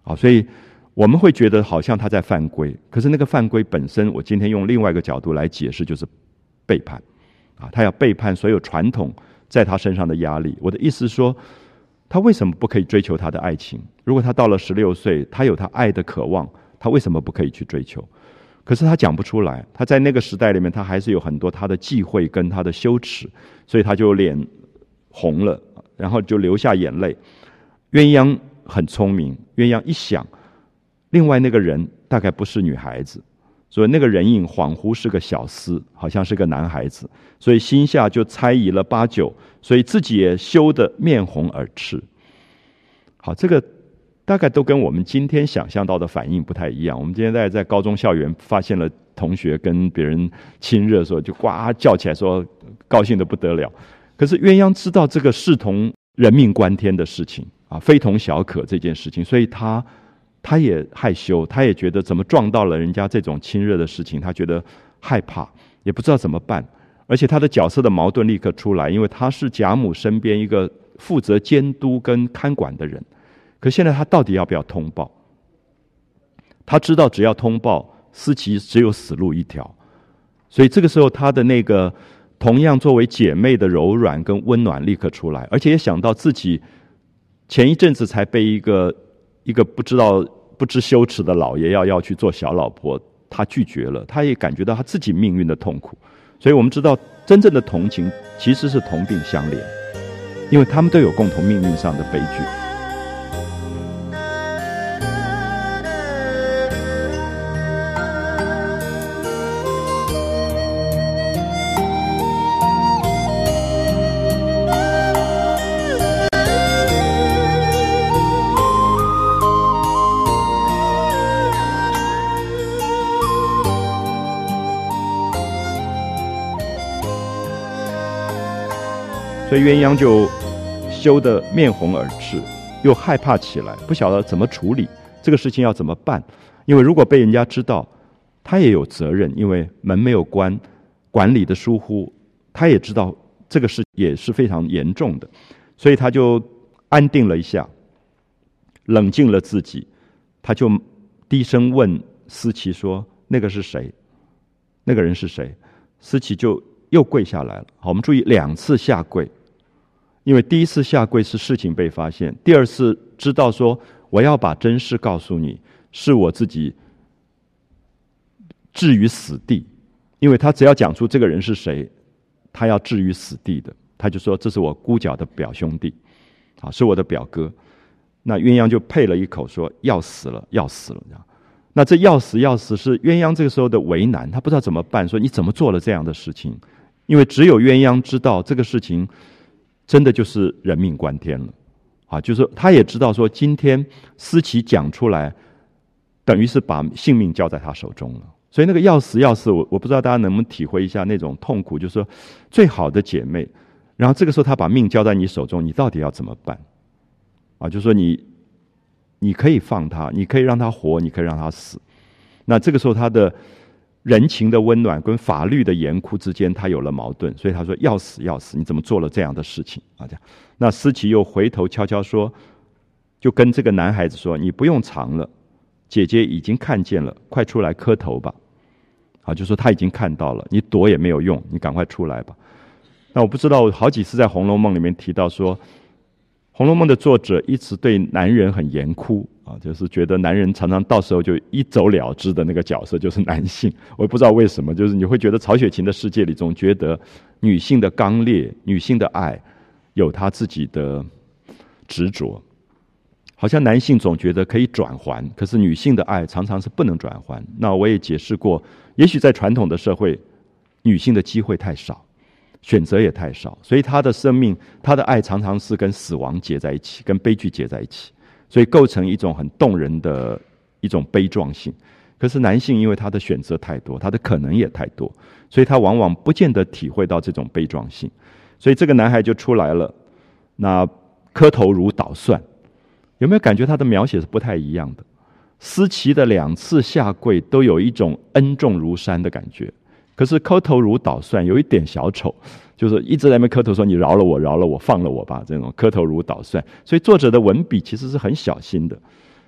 所以我们会觉得好像他在犯规，可是那个犯规本身，我今天用另外一个角度来解释，就是背叛他要背叛所有传统在他身上的压力。我的意思是说，他为什么不可以追求他的爱情？如果他到了16岁，他有他爱的渴望，他为什么不可以去追求？可是他讲不出来，他在那个时代里面，他还是有很多他的忌讳跟他的羞耻，所以他就脸红了，然后就流下眼泪。鸳鸯很聪明，鸳鸯一想，另外那个人大概不是女孩子，所以那个人影恍惚是个小厮，好像是个男孩子，所以心下就猜疑了8九，所以自己也羞得面红耳赤。好，这个大概都跟我们今天想象到的反应不太一样。我们今天在高中校园发现了同学跟别人亲热的时候，就呱叫起来说高兴得不得了。可是鸳鸯知道这个视同人命关天的事情非同小可这件事情，所以他也害羞，他也觉得怎么撞到了人家这种亲热的事情，他觉得害怕，也不知道怎么办。而且他的角色的矛盾立刻出来，因为他是贾母身边一个负责监督跟看管的人，可现在他到底要不要通报？他知道只要通报，思琪只有死路一条，所以这个时候他的那个同样作为姐妹的柔软跟温暖立刻出来，而且也想到自己前一阵子才被一个不知羞耻的老爷要去做小老婆，他拒绝了，他也感觉到他自己命运的痛苦。所以我们知道真正的同情其实是同病相怜，因为他们都有共同命运上的悲剧。所以鸳鸯就羞得面红耳赤，又害怕起来，不晓得怎么处理这个事情，要怎么办？因为如果被人家知道，他也有责任，因为门没有关，管理的疏忽，他也知道这个事也是非常严重的，所以他就安定了一下，冷静了自己，他就低声问思琪说：“那个是谁？那个人是谁？”思琪就又跪下来了。好，我们注意2次下跪，因为第一次下跪是事情被发现，第二次知道说我要把真事告诉你，是我自己置于死地。因为他只要讲出这个人是谁，他要置于死地的，他就说这是我姑脚的表兄弟，好，是我的表哥。那鸳鸯就配了一口说要死了，要死了。那这要死要死是鸳鸯这个时候的为难，他不知道怎么办，说你怎么做了这样的事情？因为只有鸳鸯知道这个事情真的就是人命关天了就是他也知道说今天思琪讲出来等于是把性命交在他手中了，所以那个要死要死，我不知道大家能不能体会一下那种痛苦，就是说最好的姐妹，然后这个时候他把命交在你手中，你到底要怎么办就是说你可以放他，你可以让他活，你可以让他死。那这个时候他的人情的温暖跟法律的严酷之间他有了矛盾，所以他说要死要死，你怎么做了这样的事情这样。那思琪又回头悄悄说，就跟这个男孩子说，你不用藏了，姐姐已经看见了，快出来磕头吧。就说他已经看到了，你躲也没有用，你赶快出来吧。那我不知道，我好几次在《红楼梦》里面提到说，《红楼梦》的作者一直对男人很严酷就是觉得男人常常到时候就一走了之的那个角色就是男性。我也不知道为什么，就是你会觉得曹雪芹的世界里总觉得女性的刚烈，女性的爱有她自己的执着，好像男性总觉得可以转还，可是女性的爱常常是不能转还。那我也解释过，也许在传统的社会，女性的机会太少，选择也太少，所以她的生命，她的爱常常是跟死亡结在一起，跟悲剧结在一起，所以构成一种很动人的一种悲壮性。可是男性因为他的选择太多，他的可能也太多，所以他往往不见得体会到这种悲壮性。所以这个男孩就出来了，那磕头如捣蒜，有没有感觉他的描写是不太一样的？思琪的2次下跪都有一种恩重如山的感觉，可是磕头如捣蒜有一点小丑，就是一直在那边磕头说你饶了我，饶了我，放了我吧，这种磕头如捣蒜。所以作者的文笔其实是很小心的。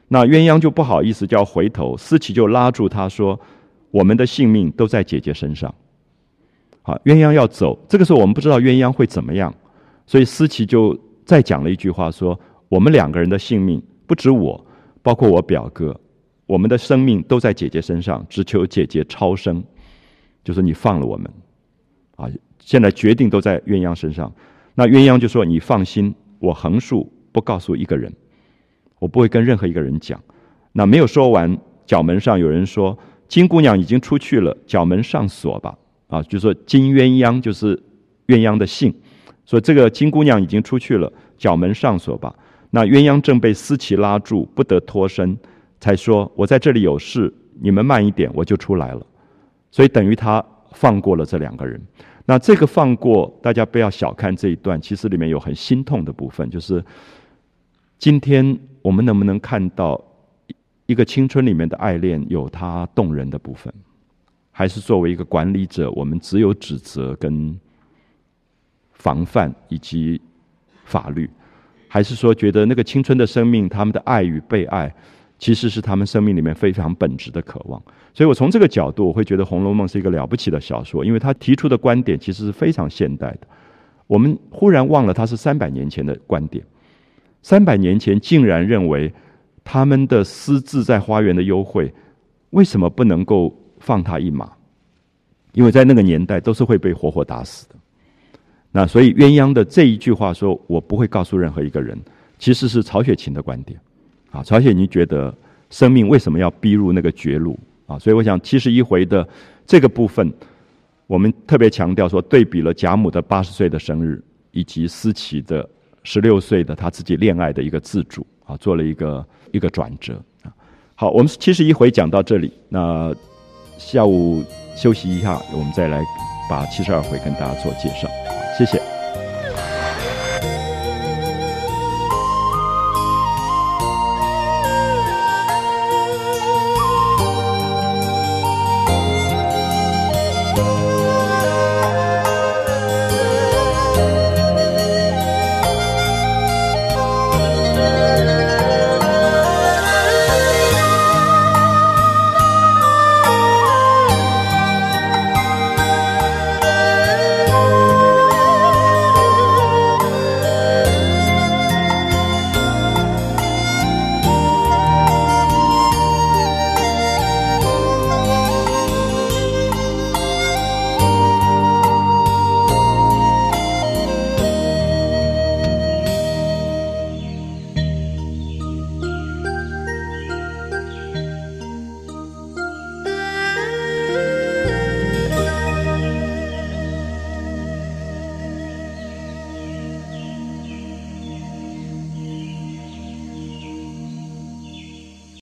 那鸳鸯就不好意思，就要回头，思琪就拉住他说：“我们的性命都在姐姐身上。”好，鸳鸯要走，这个时候我们不知道鸳鸯会怎么样，所以思琪就再讲了一句话说：“我们2个人的性命，不止我，包括我表哥，我们的生命都在姐姐身上，只求姐姐超生，就是你放了我们。”啊，现在决定都在鸳鸯身上。那鸳鸯就说：“你放心，我横竖不告诉一个人，我不会跟任何一个人讲。”那没有说完，角门上有人说：“金姑娘已经出去了，角门上锁吧。”啊，就说金鸳鸯就是鸳鸯的姓，说这个金姑娘已经出去了，角门上锁吧。那鸳鸯正被思琪拉住，不得脱身，才说：“我在这里有事，你们慢一点，我就出来了。”所以等于他放过了这2个人。那这个放过，大家不要小看这一段，其实里面有很心痛的部分，就是今天我们能不能看到一个青春里面的爱恋有它动人的部分，还是作为一个管理者，我们只有指责跟防范以及法律，还是说觉得那个青春的生命，他们的爱与被爱其实是他们生命里面非常本质的渴望。所以我从这个角度，我会觉得《红楼梦》是一个了不起的小说，因为他提出的观点其实是非常现代的。我们忽然忘了他是300年前的观点，300年前竟然认为他们的私自在花园的幽会，为什么不能够放他一马？因为在那个年代都是会被活活打死的。那所以鸳鸯的这一句话说：“我不会告诉任何一个人”，其实是曹雪芹的观点。啊，曹雪芹觉得生命为什么要逼入那个绝路啊？所以我想71回的这个部分，我们特别强调说，对比了贾母的80岁的生日，以及思琪的16岁的他自己恋爱的一个自主啊，做了一个转折啊。好，我们71回讲到这里，那下午休息一下，我们再来把72回跟大家做介绍。谢谢。